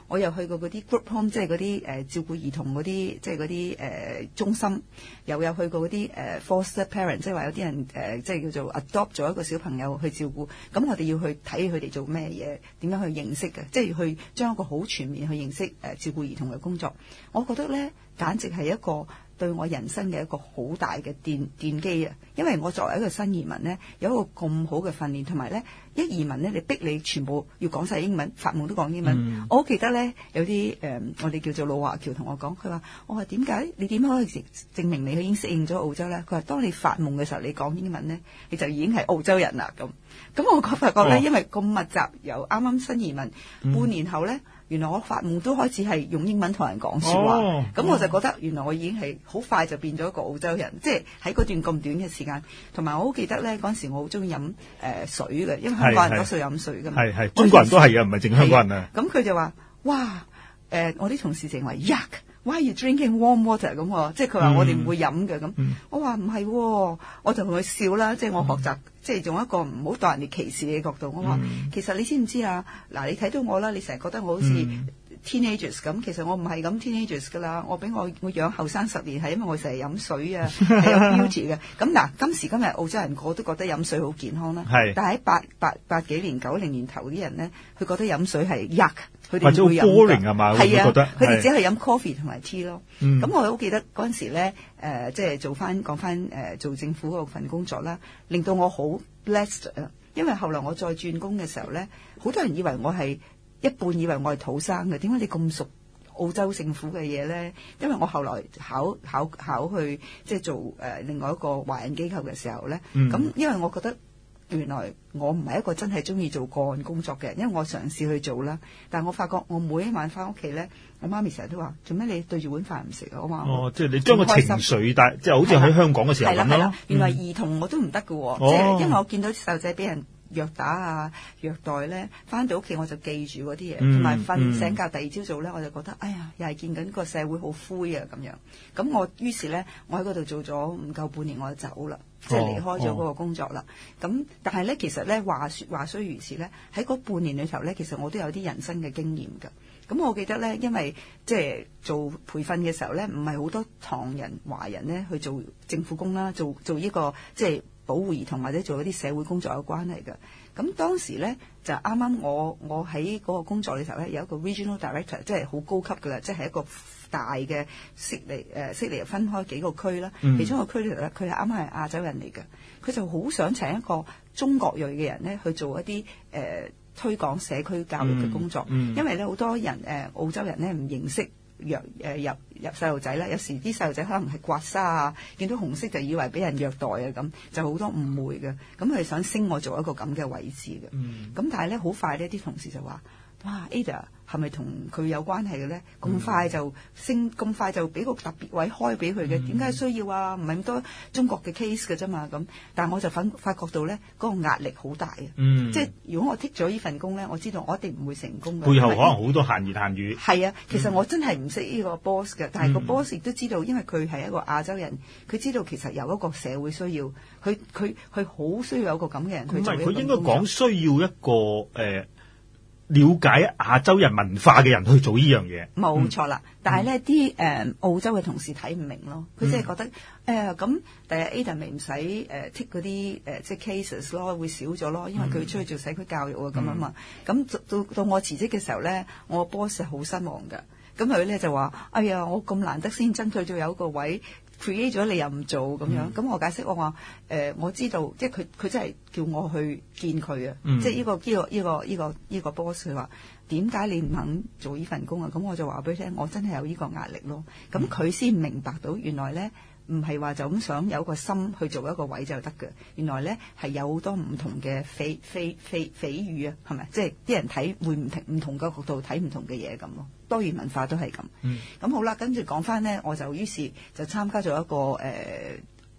我又去過嗰啲 group home，即係嗰啲照顧兒童嗰啲，即係嗰啲中心，又有去過嗰啲foster parent，即係話有啲人即係叫做 adopt 咗一個小朋友去照顧，咁我哋要去睇佢哋做咩嘢，點樣去認識嘅，即係去將一個好全面去認識照顧兒童嘅工作。我覺得咧，簡直係一個對我人生嘅一個好大嘅奠基啊！因為我作為一個新移民呢，有一個咁好嘅訓練，同埋呢一移民呢，你逼你全部要講晒英文，發夢都講英文。我好記得呢，有啲我哋叫做老華僑同我講，佢話：我話點解你點可以證明你已經適應咗澳洲呢？佢話：當你發夢嘅時候，你講英文呢，你就已經係澳洲人啦。咁我發覺呢，因為咁密集，由啱啱新移民半年後呢。原來我發夢都開始係用英文同人講說話，咁我就覺得原來我已經係好快就變咗一個澳洲人，即係喺嗰段咁短嘅時間。同埋我好記得咧，嗰陣時我好中意飲水嘅，因為香港人多數飲水㗎嘛。係中國人都係嘅，唔係淨香港人啊。咁佢就話：哇！我啲同事淨話 yuck。Why are you drinking warm water？ 咁即係佢話我哋唔會飲嘅咁。我話唔係，我就同佢笑啦。即係我學習，即係用一個唔好當人哋歧視嘅角度。我話其實你知唔知啊？嗱，你睇到我啦，你成日覺得我好似 teenagers 咁，其實我唔係咁 teenagers 噶啦。我養後生10年係因為我成日飲水啊，係有 beauty 嘅。咁嗱，今時今日澳洲人個個都覺得飲水好健康啦。但係喺八幾年90年頭啲人咧，佢覺得飲水係 yuck。佢哋會飲 boring 係嘛？ 係啊，佢哋只係飲 coffee 同埋 tea 咯。咁我好記得嗰陣時咧，即係講翻做政府嗰份工作啦，令到我好 blessed 啊！因為後來我再轉工嘅時候咧，好多人以為我係一半以為我係土生嘅。點解你咁熟澳洲政府嘅嘢咧？因為我後來考去即係做另外一個華人機構嘅時候咧，咁因為我覺得。原來我唔係一個真係中意做個案工作嘅，因為我嘗試去做啦，但係我發覺我每一晚翻屋企咧，我媽咪成日都話：做咩你對住碗飯唔食啊？我話即係你將個情緒帶，即係好似喺香港嘅時候咁咯。 原來兒童我都唔得嘅，即係因為我見到啲細路仔俾人虐打啊、虐待咧，翻到屋企我就記住嗰啲嘢，同埋瞓醒覺第二朝早咧，我就覺得哎呀，又係見緊個社會好灰啊咁樣。咁我於是咧，我喺嗰度做咗唔夠半年，我就走啦。即係離開咗嗰個工作啦。咁但係咧，其實咧話雖如此咧，喺嗰半年裏頭咧，其實我都有啲人生嘅經驗㗎。咁我記得咧，因為即係做培訓嘅時候咧，唔係好多唐人華人咧去做政府工啦，做呢個即係保護兒童或者做一啲社會工作有關係嘅。咁當時咧就啱啱我喺嗰個工作裏頭咧有一個 regional director， 即係好高級㗎啦，即係一個大嘅悉尼分開幾個區啦，其中一個區裏頭咧，佢係啱啱係亞洲人嚟嘅，佢就好想請一個中國裔嘅人咧去做一啲推廣社區教育嘅工作，因為咧好多人澳洲人咧唔認識入細路仔啦，有時啲細路仔可能係刮痧啊，見到紅色就以為俾人虐待啊，咁就好多誤會嘅，咁佢哋想升我做一個咁嘅位置嘅，咁但係咧好快呢啲同事就話：哇 Ada 係咪同佢有關係嘅咧？咁快就升，咁快就俾個特別位開俾佢嘅？點解需要啊？唔係咁多中國嘅 case 嘅啫嘛。咁，但係我就發覺到咧，嗰個壓力好大啊。即係如果我剔咗呢份工咧，我知道我一定唔會成功嘅。 背後可能好多閒言閒語。係啊，其實我真係唔識呢個 boss 嘅，但係個 boss 亦都知道，因為佢係一個亞洲人，佢知道其實有一個社會需要，佢好需要有一個咁嘅人去做呢個工作。唔係，佢應該講需要一個了解亞洲人文化嘅人去做呢樣嘢， 冇錯啦。但係咧，啲澳洲嘅同事睇唔明咯，佢即係覺得咁，第日 Ada 咪唔使剔嗰啲即係 cases 咯，會少咗咯，因為佢出去做社區教育啊咁啊嘛。咁到我辭職嘅時候咧，我 boss 係好失望㗎。咁佢咧就話：哎呀，我咁難得先爭取咗有一個位。create 咗你又唔做咁樣，咁我解釋我話我知道，即係佢真係叫我去見佢啊，即係呢個 boss 佢話點解你唔肯做呢份工啊？咁我就話俾佢聽，我真係有呢個壓力咯。咁佢先明白到原來咧唔係話就咁想有個心去做一個位就得嘅，原來咧係有好多唔同嘅蜚語啊，係咪？即係啲人睇會唔同嘅角度睇唔同嘅嘢咁咯。多元文化都係咁。咁好啦，跟住講翻呢，我就於是就參加咗一個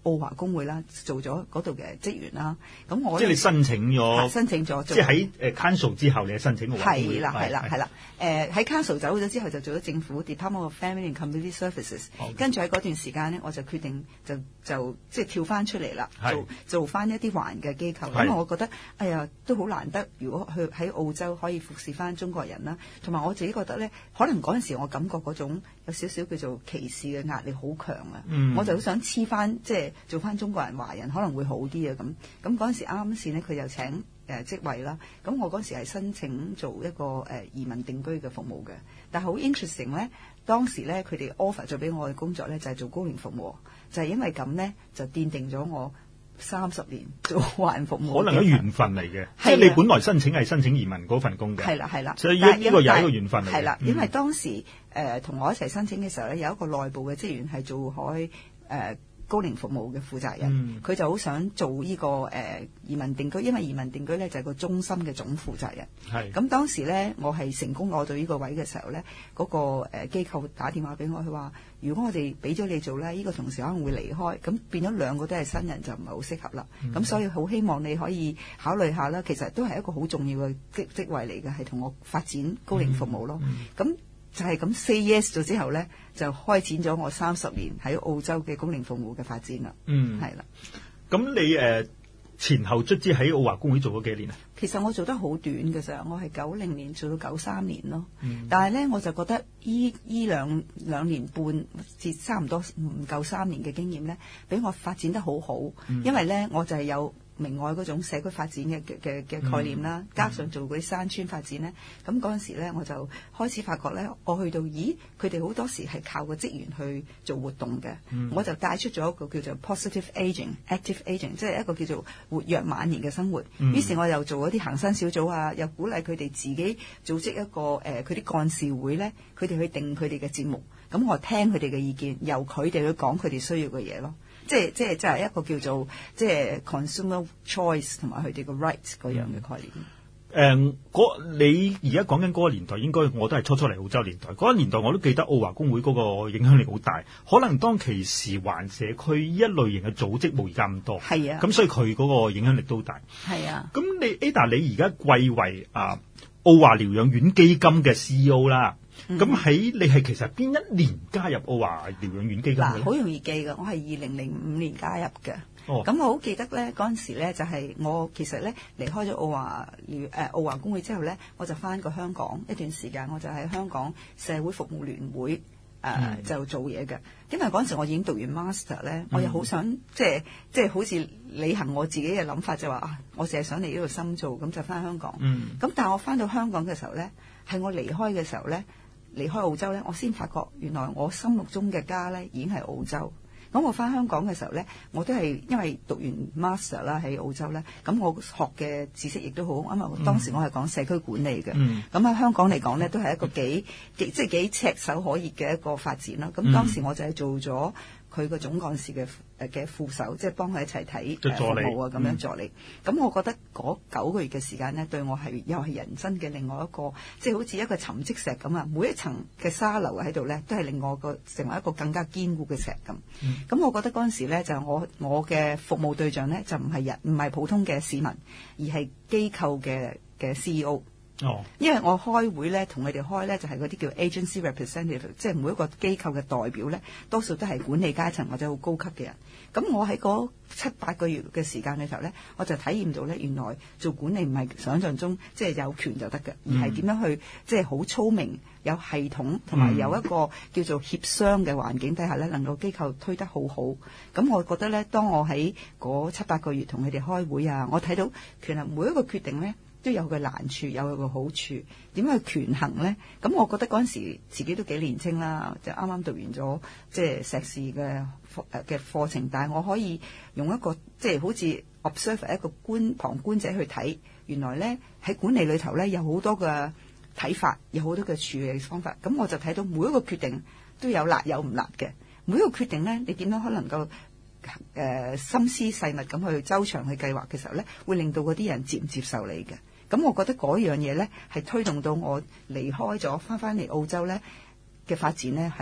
澳華工會啦，做咗嗰度嘅職員啦。咁我即係你申請咗，即係喺Council 之後，你係申請澳華工會。 係啦。喺 Council 走咗之後，就做咗政府 Department of Family and Community Services。跟住喺嗰段時間呢，我就決定就即係跳翻出嚟啦，做翻一啲華人嘅機構。因為我覺得哎呀都好難得，如果去喺澳洲可以服侍翻中國人啦，同埋我自己覺得咧，可能嗰陣時我感覺嗰種有少少叫做歧視嘅壓力好強啊。我就好想黐翻即係做翻中國人華人可能會好啲啊。咁嗰陣時啱先呢，佢就請職位啦。咁我嗰時係申請做一個移民定居嘅服務嘅，但係好 interesting 咧。當時咧佢哋 offer 咗俾我嘅工作咧就係做高齡服務，就係因為咁咧就奠定咗我30年做華人服務。可能係緣分嚟嘅，即係你本來申請移民嗰份工嘅。係啦，所以呢個又係一個緣分嚟嘅。係啦， 因為當時同我一齊申請嘅時候咧，有一個內部嘅職員係做開高齡服務嘅負責人，佢就好想做呢個移民定居，因為移民定居咧就係個中心嘅總負責人。咁當時咧，我係成功攞到呢個位嘅時候咧，嗰個機構打電話俾我，佢話如果我哋俾咗你做咧，呢個同事可能會離開，咁變咗兩個都係新人就唔係好適合啦。咁所以好希望你可以考慮下啦。其實都係一個好重要嘅職位嚟嘅，係同我發展高齡服務咯。咁就係咁 say yes 咗之後咧，就開展咗我30年喺澳洲嘅高齡服務嘅發展啦。係啦。 咁你前後卒之喺澳華工會做咗幾年啊？ 其實我做得好短嘅咋，我係90年做到93年咯。但係咧，我就覺得依兩年半至差唔多唔夠3年嘅經驗咧，俾我發展得好好。因為咧，我就係有明愛嗰種社區發展嘅概念啦，加上做嗰啲山村發展咧，咁嗰陣時咧我就開始發覺咧，我去到佢哋好多時係靠個職員去做活動嘅，我就帶出咗一個叫做 positive aging、active aging， 即係一個叫做活躍晚年嘅生活。於是我又做一啲行山小組啊，又鼓勵佢哋自己組織一個佢啲幹事會咧，佢哋去定佢哋嘅節目，咁我聽佢哋嘅意見，由佢哋去講佢哋需要嘅嘢咯。即係一個叫做即係 consumer choice 同埋佢哋個 rights 嗰樣嘅概念。 你而家講緊嗰個年代，應該我都係初嚟澳洲年代。嗰個年代我都記得澳華工會嗰個影響力好大。可能當其時華人社區一類型嘅組織冇而家咁多。係啊。咁所以佢嗰個影響力都大。係啊。咁你 Ada 你而家貴為澳華療養院基金嘅 CEO 啦。咁你係其實邊一年加入澳華療養院基金嘅？ 好容易記㗎，我係2005年加入嘅。咁我好記得咧，嗰陣時咧就係我其實咧離開咗澳華工會之後咧，我就翻過香港一段時間，我就喺香港社會服務聯會就做嘢嘅。因為嗰陣時我已經讀完 master 咧，我又好想即係好似履行我自己嘅諗法，就話我淨係想嚟呢度深造，咁就翻香港。咁但係我翻到香港嘅時候咧，係我離開嘅時候咧。離開澳洲咧，我先發覺原來我心目中嘅家咧已經係澳洲。咁我翻香港嘅時候咧，我都係因為讀完 master 啦喺澳洲咧，咁我學嘅知識亦都好，因為當時我係講社區管理嘅。咁喺香港嚟講咧，都係一個幾炙手可熱嘅一個發展啦。咁當時我就係做咗佢個總幹事嘅副手，即係幫佢一齊睇服務啊，咁樣助理。咁我覺得嗰9個月嘅時間咧，對我又係人生嘅另外一個，即係好似一個沉積石咁啊！每一層嘅沙樓喺度咧，都係令我成為一個更加堅固嘅石咁。咁我覺得嗰陣時咧，就我嘅服務對象咧，就唔係普通嘅市民，而係機構嘅 CEO。因為我開會咧，同佢哋開咧就係嗰啲叫 agency representative， 即係每一個機構嘅代表咧，多數都係管理階層或者好高級嘅人。咁我喺嗰7-8個月嘅時間嘅時候咧，我就體驗到咧，原來做管理唔係想像中即係有權就得嘅，而係點樣去即係好聰明、有系統同埋有一個叫做協商嘅環境底下咧，能夠機構推得好好。咁我覺得咧，當我喺嗰7-8個月同佢哋開會啊，我睇到其實每一個決定咧，都有個難處，有個好處，點樣去權衡呢？咁我覺得嗰陣時自己都幾年青啦，就啱啱讀完咗即係碩士嘅課程，但係我可以用一個即係好似 observer 一個旁觀者去睇，原來呢喺管理裏頭呢，有好多嘅睇法，有好多嘅處理方法。咁我就睇到每一個決定都有辣有唔辣嘅，每一個決定呢，你點樣可能夠心思細密咁去周詳去計劃嘅時候呢，會令到嗰啲人接唔接受你嘅。咁我覺得嗰樣嘢咧，係推動到我離開咗翻嚟澳洲咧嘅發展咧，係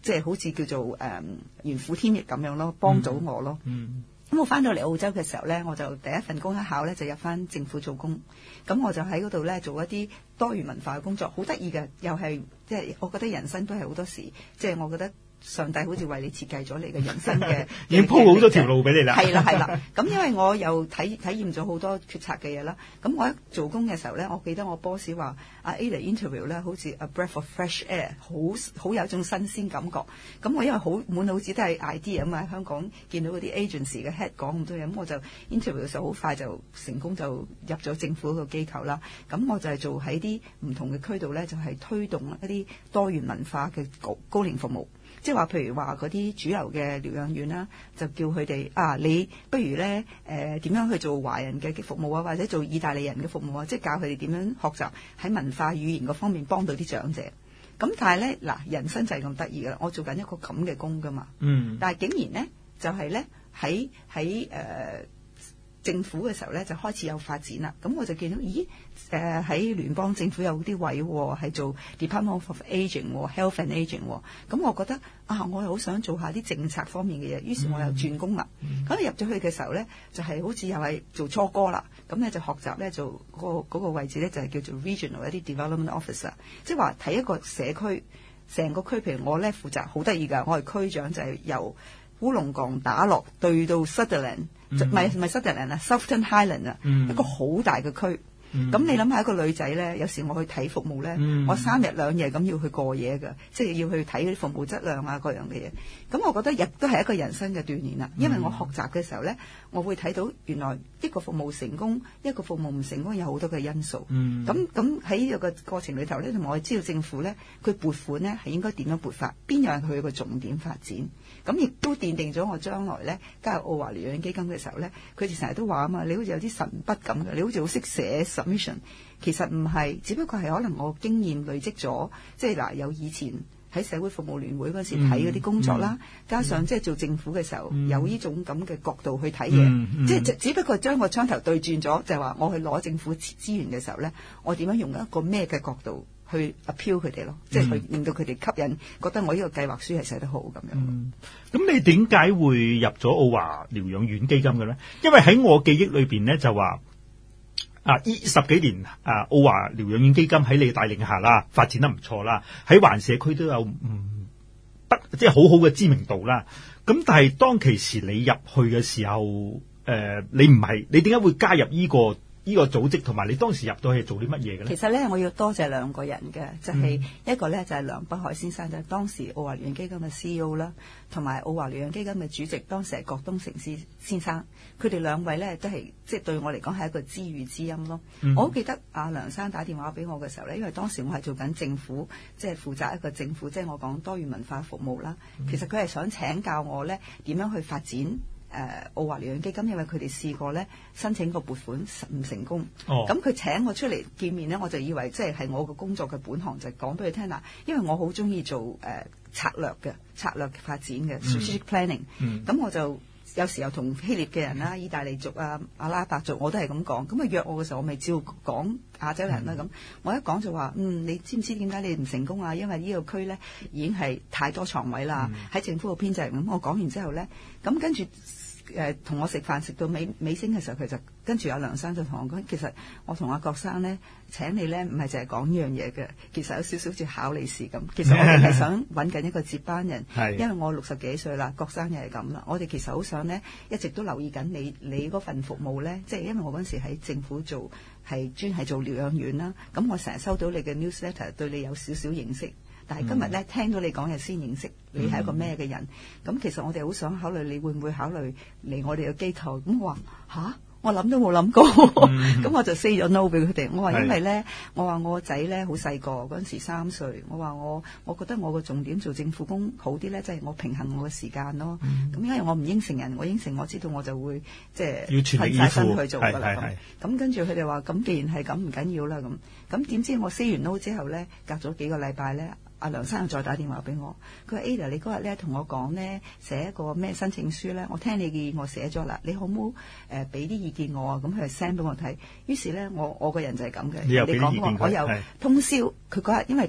即係好似叫做如虎添翼咁樣咯，幫到我咯。咁我翻到嚟澳洲嘅時候咧，我就第一份工一考咧就入翻政府做工，咁我就喺嗰度咧做一啲多元文化嘅工作，好得意嘅，又係即係我覺得人生都係好多時，即係我覺得上帝好似為你設計咗你嘅人生嘅， 已經鋪好咗條路俾你啦。 係啦，咁因為我又體驗咗好多決策嘅嘢啦，咁我一做工嘅時候咧，我記得我 boss 話Ada interview 咧好似 a breath of fresh air， 好有一種新鮮感覺。咁我因為好滿腦子都係 idea 啊嘛，喺香港見到嗰啲 agency 嘅 head 講咁多嘢，咁我就 interview 嘅時候好快就成功就入咗政府個機構啦。咁我就係做喺啲唔同嘅區度咧，就係推動一啲多元文化嘅高齡服務。即係話，譬如話嗰啲主流嘅療養院啦，就叫佢哋你不如咧點樣去做華人嘅服務啊，或者做意大利人嘅服務啊，即係教佢哋點樣學習喺文化語言嗰方面幫到啲長者。咁但係咧人生就係咁得意噶啦，我做緊一個咁嘅工噶嘛，但係竟然咧就係咧喺政府嘅時候咧就開始有發展啦，咁我就見到喺聯邦政府有啲位係做 Department of Aging、Health and Aging， 咁我覺得我又好想做下啲政策方面嘅嘢，於是我又轉工啦。咁入咗去嘅時候咧，就係好似又係做初哥啦，咁咧就學習咧做嗰個位置咧就係叫做 Regional 一啲 Development Officer， 即係話睇一個社區成個區，譬如我咧負責好得意㗎，我係區長，就係由烏龍崗打落對到 Sutherland。唔係 Sutherland 啊 ，Southern Highland 啊，一個好大嘅區。咁你諗下一個女仔咧，有時我去睇服務咧，我3日2夜咁要去過夜㗎，即係要去睇嗰啲服務質量啊各樣嘅嘢。咁我覺得亦都係一個人生嘅鍛鍊啦，因為我學習嘅時候咧，我會睇到原來一個服務成功，一個服務唔成功有好多嘅因素。咁喺呢個過程裏頭咧，同埋我知道政府咧，佢撥款咧係應該點樣撥法，邊樣係佢個重點發展。咁亦都奠定咗我將來咧加入澳華療養基金嘅時候咧，佢哋成日都話啊嘛，你好似有啲神筆咁嘅，你好似好識寫 submission， 其實唔係，只不過係可能我經驗累積咗，即係有以前喺社會服務聯會嗰時睇嗰啲工作啦，加上即係做政府嘅時候有呢種咁嘅角度去睇嘢，即係只不過將個槍頭對轉咗，就係話我去攞政府資源嘅時候咧，我點樣用一個咩嘅角度去 appeal 佢哋咯，即係去令到佢哋吸引，覺得我呢個計劃書係寫得好咁樣。 咁你點解會入咗澳華療養院基金嘅咧？因為喺我記憶裏邊咧就話呢10幾年澳華療養院基金喺你帶領下啦，發展得唔錯啦，喺環社區都有即係好好嘅知名度啦。咁但係當其時你入去嘅時候，你點解會加入呢個組織，同埋你當時入到去做啲乜嘢嘅咧？ 其實咧，我要多謝兩個人嘅，就係一個咧就係梁北海先生，就係當時澳華療養基金嘅 CEO 啦，同埋澳華療養基金嘅主席，當時係郭東成先生。佢哋兩位咧都係即係對我嚟講係一個知遇之音咯。我好記得阿梁生打電話俾我嘅時候咧，因為當時我係做緊政府，即係負責一個政府，即係我講多元文化服務啦。其實佢係想請教我咧點樣去發展澳華療養基金，因為佢哋試過咧申請個撥款唔成功，咁佢請我出嚟見面咧，我就以為即係我個工作嘅本行，就講俾佢聽啦。因為我好中意做策略發展嘅 strategic planning，咁我就有時候同希臘嘅人啦、意大利族啊、阿拉伯族，我都係咁講。咁約我嘅時候，我咪照講亞洲人啦。咁我一講就話，你知唔知點解你唔成功啊？因為呢個區咧已經係太多床位啦，喺政府嘅編制。咁我講完之後咧，咁跟住同我食飯食到尾聲嘅時候，佢就跟住阿梁生就同我講，其實我同阿郭生咧請你咧，唔係淨係講呢樣嘢嘅，其實有少少似考你試咁。其實我哋係想揾緊一個接班人，因為我60幾歲啦，郭生又係咁啦。我哋其實好想咧，一直都留意緊你嗰份服務咧，即係因為我嗰陣時喺政府做係專係做療養院啦。咁我成日收到你嘅 newsletter， 對你有少少認識。但係今日咧聽到你講嘢先認識你係一個咩嘅人，咁其實我哋好想考慮你會唔會考慮嚟我哋嘅機構。咁我話吓，我諗都冇諗過，咁我就 say 咗 no 俾佢哋。我話因為咧，我話我個仔咧好細個，嗰陣時3歲，我話我覺得我個重點做政府工好啲咧，即係我平衡我嘅時間咯。咁因為我唔應承人，我應承我知道我就會即係瞓晒身去做㗎啦。咁跟住佢哋話，咁既然係咁唔緊要啦，咁點知我 say 完 no 之後咧，隔咗幾個禮拜咧。阿梁生又再打電話俾我，佢話 Ada 你嗰日咧同我講咧寫一個咩申請書咧，我聽你建議我寫咗啦，你好唔好俾啲意見我啊？咁佢就 send 俾我睇，於是咧我個人就係咁嘅，你講我又通宵，佢嗰日因為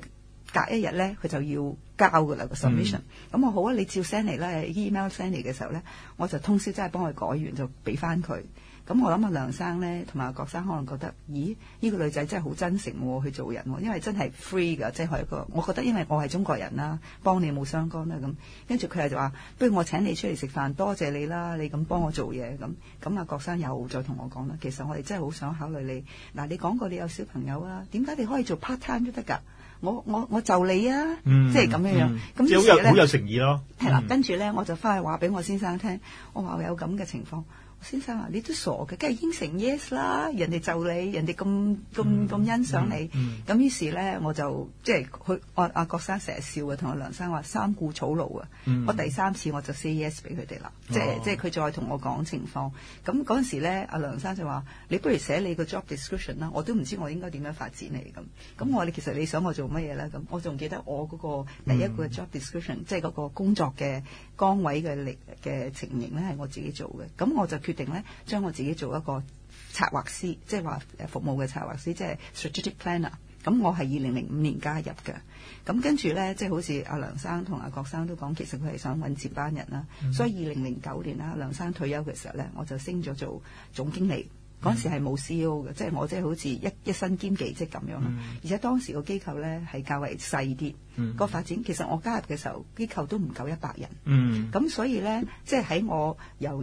隔一日咧佢就要交噶啦個 submission。咁我好啊，你照 send 嚟啦 ，email send 嚟嘅時候咧，我就通宵真係幫佢改完就俾翻佢。咁我諗阿梁生咧同埋阿郭生可能覺得，咦？呢個女仔真係好真誠喎，去做人喎，因為真係 free 㗎，即係一個。我覺得因為我係中國人啦，幫你冇相干啦咁。跟住佢就話，不如我請你出嚟食飯，多謝你啦，你咁幫我做嘢咁。咁阿郭生又再同我講啦，其實我哋真係好想考慮你。嗱，你講過你有小朋友啊，點解你可以做 part time 都得㗎？我就你啊，即係咁樣樣。咁於是咧， 好有誠意咯。 係啦，跟住咧我就翻去話俾我先生聽，我話我有咁嘅情況。先生啊，你都傻嘅，梗係應承 yes 啦！人哋就你，人哋咁欣賞你，咁於是咧我就即係佢阿郭生成日笑嘅，同阿梁生話三顧草廬啊！我第三次我就 say yes 俾佢哋啦，即係佢再同我講情況。咁嗰陣時咧，阿梁生就話：你不如寫你個 job description 啦，我都唔知我應該點樣發展你咁。咁我話你其實你想我做乜嘢咧？咁我仲記得我嗰個第一個 job description，即係嗰個工作嘅崗位嘅情形咧，係我自己做嘅。咁我就決定咧，將我自己做一個策劃師，即係話服務嘅策劃師，即係 strategic planner。咁我係2005年加入嘅。咁跟住咧，即係好似阿梁生同阿郭生都講，其實佢係想揾接班人啦。所以2009年啦，梁生退休嘅時候咧，我就升咗做總經理。嗰陣時係冇 CEO 嘅，即係我即係好似一身兼技職咁樣咯。而且當時個機構咧係較為細啲，個發展其實我加入嘅時候，機構都唔夠100人。咁所以咧，即係喺我由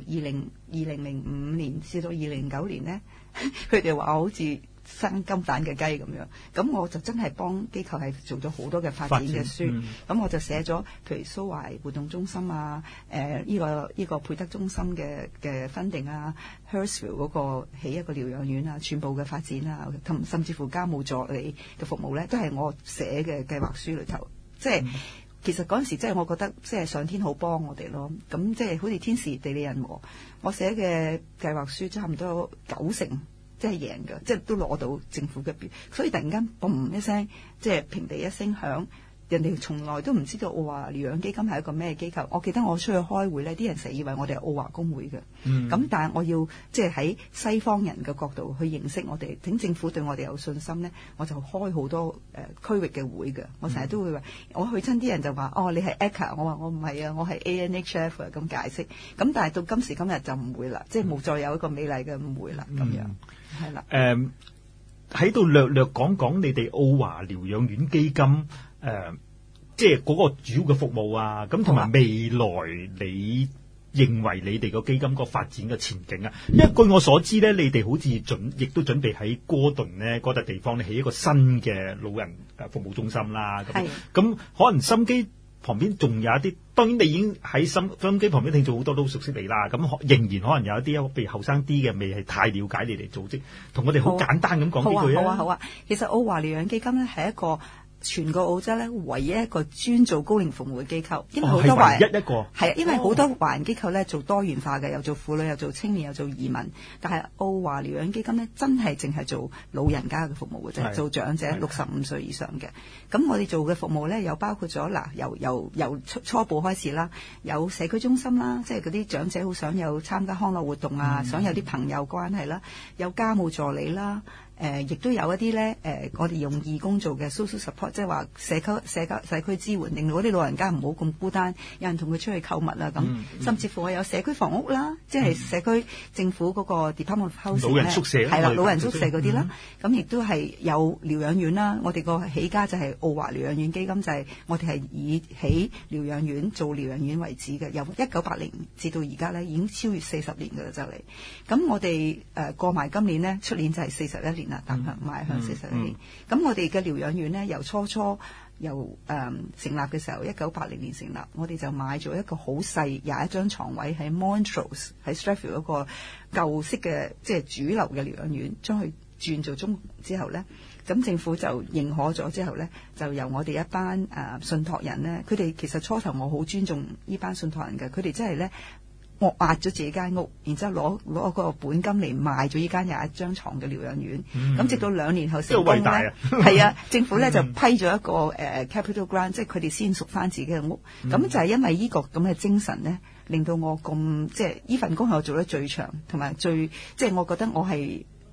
2005年至到2009年咧，佢哋話我好似生金蛋嘅雞咁樣，咁我就真係幫機構係做咗好多嘅發展嘅書，咁我就寫咗譬如蘇懷活動中心啊，呢個佩德中心嘅分定啊 Hurstville 嗰個起一個療養院啊，全部嘅發展啊，甚至乎家務助理嘅服務咧，都係我寫嘅計劃書裏頭，即係。其實嗰陣時，即係我覺得，即係上天好幫我哋咯。咁即係好似天時地利人和，我寫嘅計劃書差唔多90%，即係贏嘅，即係都攞到政府嘅標。所以突然間嘣一聲，即係平地一聲響，人哋從來都唔知道澳華療養基金係一個咩機構。我記得我出去開會呢，啲人成日以為我哋係澳華公會嘅。咁但係我要即係喺西方人嘅角度去認識我哋，等政府對我哋有信心呢，我就開好多區域嘅會嘅。我成日都會話，我去親啲人就話：哦，你係 ACA，我話我唔係啊，我係 ANHF 啊，咁解釋。咁但係到今時今日就唔會啦，即係冇再有一個美麗嘅誤會啦，咁樣係啦。 喺度略略講講你哋澳華療養院基金即係嗰個主要嘅服務啊，咁同埋未來你認為你哋個基金個發展嘅前景啊？因為據我所知咧，你哋好似亦都準備喺哥頓咧嗰笪地方咧起一個新嘅老人服務中心啦。咁可能心機旁邊仲有一啲，當然你已經喺心機旁邊聽咗好多都熟悉你啦。咁仍然可能有一啲譬如後生啲嘅未係太了解你哋組織，同我哋好簡單咁講幾句啊。 好啊。其實澳華療養基金咧係一個全個澳洲咧唯一一個專做高齡服務嘅機構，因為好多華人係啊，因為好多華人機構咧做多元化嘅，又做婦女，又做青年，又做移民。但係澳華療養基金咧真係淨係做老人家嘅服務嘅啫，做長者65歲以上嘅。咁我哋做嘅服務咧又包括咗由初步開始啦，有社區中心啦，即係嗰啲長者好想有參加康樂活動啊，想有啲朋友關係啦，有家務助理啦。亦都有一啲咧，我哋用義工做嘅 social support， 即係話社區支援，令到嗰啲老人家唔好咁孤單，有人同佢出去購物啊咁。甚至乎我有社區房屋啦，即係社區政府嗰個 Department of Housing 老人宿舍係啦，老人宿舍嗰啲啦。咁亦都係有療養院啦。我哋個起家就係澳華療養院基金，就係我哋係以起療養院做療養院為止嘅。由1980至到而家咧，已經超越40年㗎啦，就嚟。咁我哋過埋今年呢，出年就係41年。踏向邁向41年。咁我哋嘅療養院呢，由初成立嘅時候，1980年成立，我哋就買咗一個好細21張床位喺 Montrose 喺 Strathfield 嗰個舊式嘅即係主流嘅療養院，將佢轉做中之後呢，咁政府就認可咗之後呢，就由我哋一班信託人呢，佢哋其實初頭我好尊重呢班信託人嘅，佢哋真係呢。我壓咗自己間屋，然之後攞個本金嚟賣咗呢間21張床嘅療養院。咁直到2年後成功咧，係啊，政府咧就批咗一個capital grant， 即係佢哋先贖翻自己嘅屋。咁就係因為呢個咁嘅精神咧，令到我咁即係呢份工係我做得最長，同埋最即係我覺得我係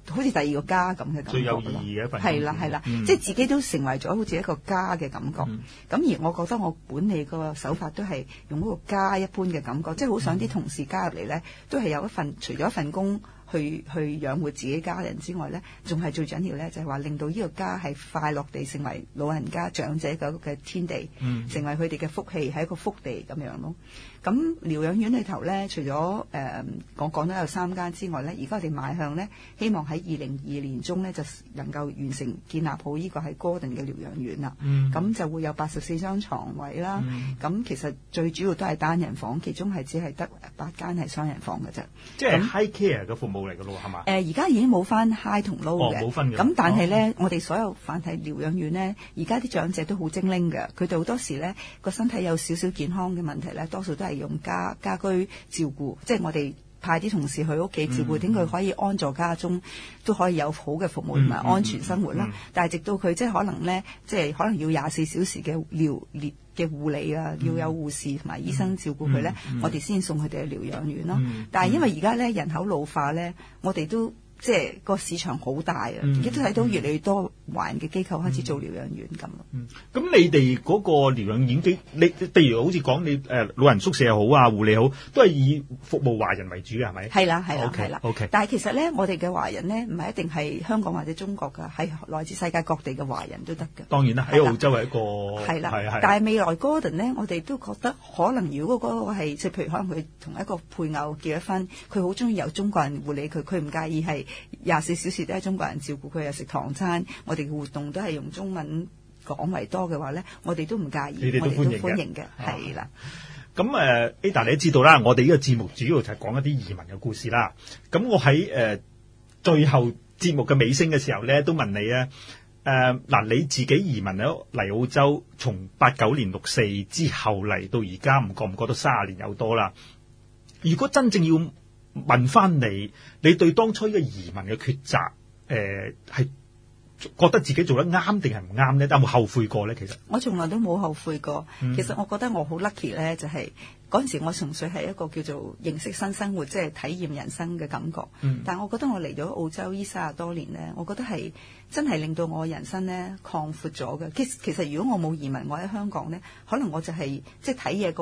好似第二個家咁嘅感覺， 最有意義嘅一份工。 係啦係啦，即係自己都成為咗好似一個家嘅感覺。咁而我覺得我管理個手法都係用嗰個家一般嘅感覺，即係好想啲同事加入嚟咧，都係有一份除咗一份工去養活自己家人之外咧，仲係最緊要咧，就係話令到呢個家係快樂地成為老人家長者嘅天地，成為佢哋嘅福氣，係一個福地咁樣咯。咁療養院裏頭咧，除咗我講咗有3間之外咧，而家我哋邁向咧，希望喺2022年中咧就能夠完成建立好呢個係 Gordon 嘅療養院啦。咁就會有84張床位啦。咁其實最主要都係單人房，其中係只係得8間係雙人房嘅啫。 即係 high care 嘅服務嚟嘅咯，係嘛？ 而家已經冇翻 high 同 low 嘅， 冇分嘅。 咁但係咧，我哋所有凡係療養院咧，而家啲長者都好精靈嘅，佢哋好多時咧個身體有少少健康嘅問題咧，多數都係用家居照顧，即係我哋派啲同事去屋企照顧，點佢可以安坐家中，都可以有好嘅服務同埋安全生活啦。但係直到佢即係可能咧，即係可能要24小時嘅嘅護理啊，要有護士同埋醫生照顧佢咧，我哋先送佢哋去療養院咯。但係因為而家咧人口老化咧，我哋都即係個市場好大啊！而家都睇到越嚟越多華人嘅機構開始做療養院咁咯。 咁你哋嗰個療養院你譬如好似講你老人宿舍又好啊，護理好，都係以服務華人為主嘅，係咪？係啦，係啦。OK。但係其實咧，我哋嘅華人咧，唔係一定係香港或者中國㗎，係來自世界各地嘅華人都得㗎。當然啦，喺澳洲係一個係啦，但係未來 Gordon 咧，我哋都覺得可能如果嗰個係即係譬如可能佢同一個配偶結咗婚，佢好中意有中國人護理佢唔介意係24小時都係中國人照顧佢，又食唐餐，我哋嘅活動都係用中文講為多嘅話咧，我哋都唔介意， 你哋都歡迎嘅， 係啦。 咁Ada 你都知道啦，我哋呢個節目主要就係講一啲移民嘅故事啦。咁我喺最後節目嘅尾聲嘅時候咧，都問你咧，嗱你自己移民咗嚟澳洲，從89年64之後嚟到而家，唔覺得30年有多啦？如果真正要問翻你對當初呢個移民嘅抉擇，係覺得自己做得啱定係唔啱咧？有冇後悔過咧？其實我從來都冇後悔過。其實我覺得我好 lucky 咧，就係嗰陣時我純粹係一個叫做認識新生活，即係體驗人生嘅感覺。但係我覺得我嚟咗澳洲呢30多年咧，我覺得係真係令到我人生咧擴闊咗嘅。其實如果我冇移民，我喺香港咧，可能我就係即係睇嘢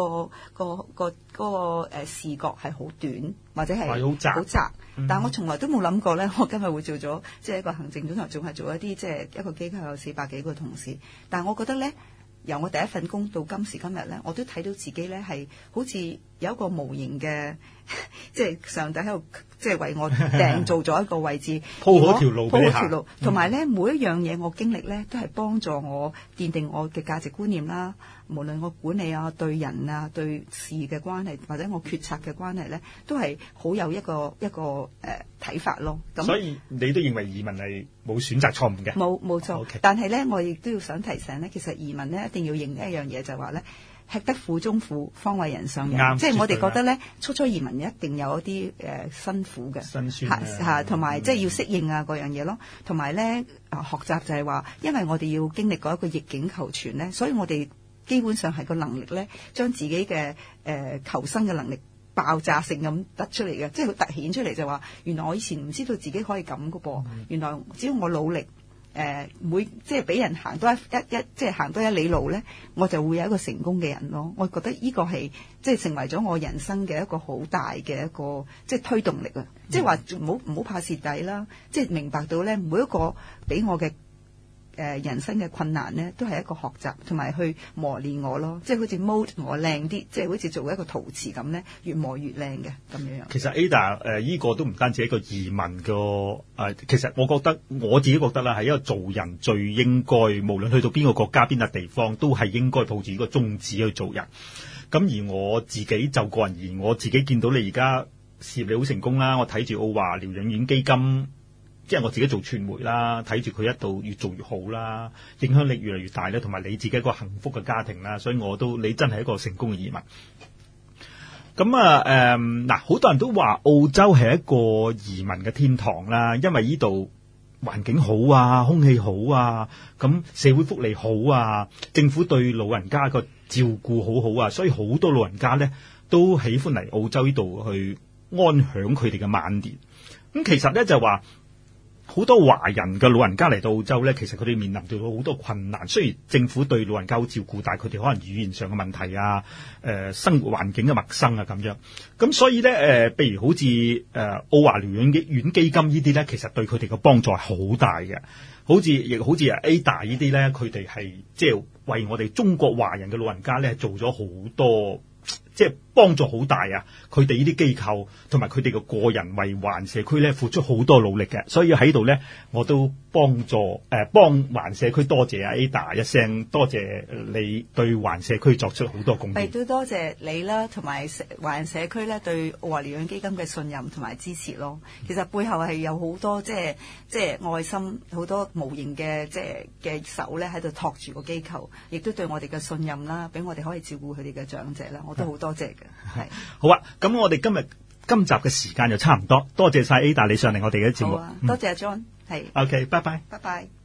個視覺係好短，或者係好窄。但係我從來都冇諗過咧，我今日會做咗即係一個行政總裁，仲係做一啲即係一個機構有400幾個同事。但係我覺得咧，由我第一份工到今時今日咧，我都睇到自己咧係好似有一個無形嘅，即係上帝喺度即係為我訂造咗一個位置，鋪好條路俾你行。同埋咧，每一樣嘢我經歷咧，都係幫助我奠定我嘅價值觀念啦。無論我管理啊、對人啊、對事嘅關係，或者我決策嘅關係咧，都係好有一個睇法咯。咁所以你都認為移民係冇選擇錯誤嘅？冇錯。Okay. 但係咧，我亦都要想提醒咧，其實移民咧一定要認一樣嘢，就係話咧，吃得苦中苦，方為人上人。即係我哋覺得咧，初移民一定有一啲辛苦嘅辛酸嚇，同埋即係要適應啊嗰樣嘢咯。同埋咧學習就係話，因為我哋要經歷過一個逆境求存咧，所以我哋基本上係個能力咧，將自己嘅求生嘅能力爆炸性咁得出嚟嘅，即係佢突顯出嚟就話，原來我以前唔知道自己可以咁嘅噃，原來只要我努力。即係俾人行多即係行多1里路咧，我就會有一個成功嘅人咯。我覺得呢個係即係成為咗我人生嘅一個好大嘅一個即係推動力啊！即係話唔好怕蝕底啦，即係明白到咧每一個俾我嘅人生嘅困難咧，都係一個學習同埋去磨練我咯。即係好似 mold 我靚啲，即係好似做一個陶瓷咁咧，越磨越靚嘅咁樣。其實 Ada 呢個都唔單止係一個移民個其實我自己覺得啦，係一個做人最應該，無論去到邊個國家邊個地方，都係應該抱住呢個宗旨去做人。咁而我自己就個人而言，我自己見到你而家事業你好成功啦，我睇住澳華療養院基金。即係我自己做傳媒啦，睇住佢一度越做越好啦，影響力越嚟越大咧，同埋你自己一個幸福嘅家庭啦，所以你真係一個成功嘅移民。咁嗱，好多人都話澳洲係一個移民嘅天堂啦，因為呢度環境好啊，空氣好啊，咁社會福利好啊，政府對老人家個照顧好好啊，所以好多老人家咧都喜歡嚟澳洲呢度去安享佢哋嘅晚年。咁其實咧就話。 好多華人嘅老人家嚟到澳洲咧，其實佢哋面臨到好多困難。雖然政府對老人家好照顧，但係佢哋可能語言上嘅問題啊，生活環境嘅陌生啊咁樣。咁所以咧，譬如好似澳華療養院基金呢啲咧，其實對佢哋嘅幫助係好大嘅。好似 Ada 呢啲咧，佢哋係即係為我哋中國華人嘅老人家咧做咗好多。即係幫助好大啊！佢哋呢啲機構同埋佢哋嘅個人為華人社區咧付出好多努力嘅，所以喺度咧我都幫華人社區多謝啊 Ada 一聲，多謝你對華人社區作出好多貢獻。亦都多謝你啦，同埋華人社區咧對澳華療養基金嘅信任同埋支持咯。其實背後係有好多即係愛心，好多無形嘅嘅手咧喺度托住個機構，亦都對我哋嘅信任啦，俾我哋可以照顧佢哋嘅長者啦，我都好多謝嘅。係好啊！咁我哋今集嘅時間就差唔多，多謝晒 Ada 你上嚟我哋嘅節目。好啊，多謝阿 John。係 OK， 拜拜，拜拜。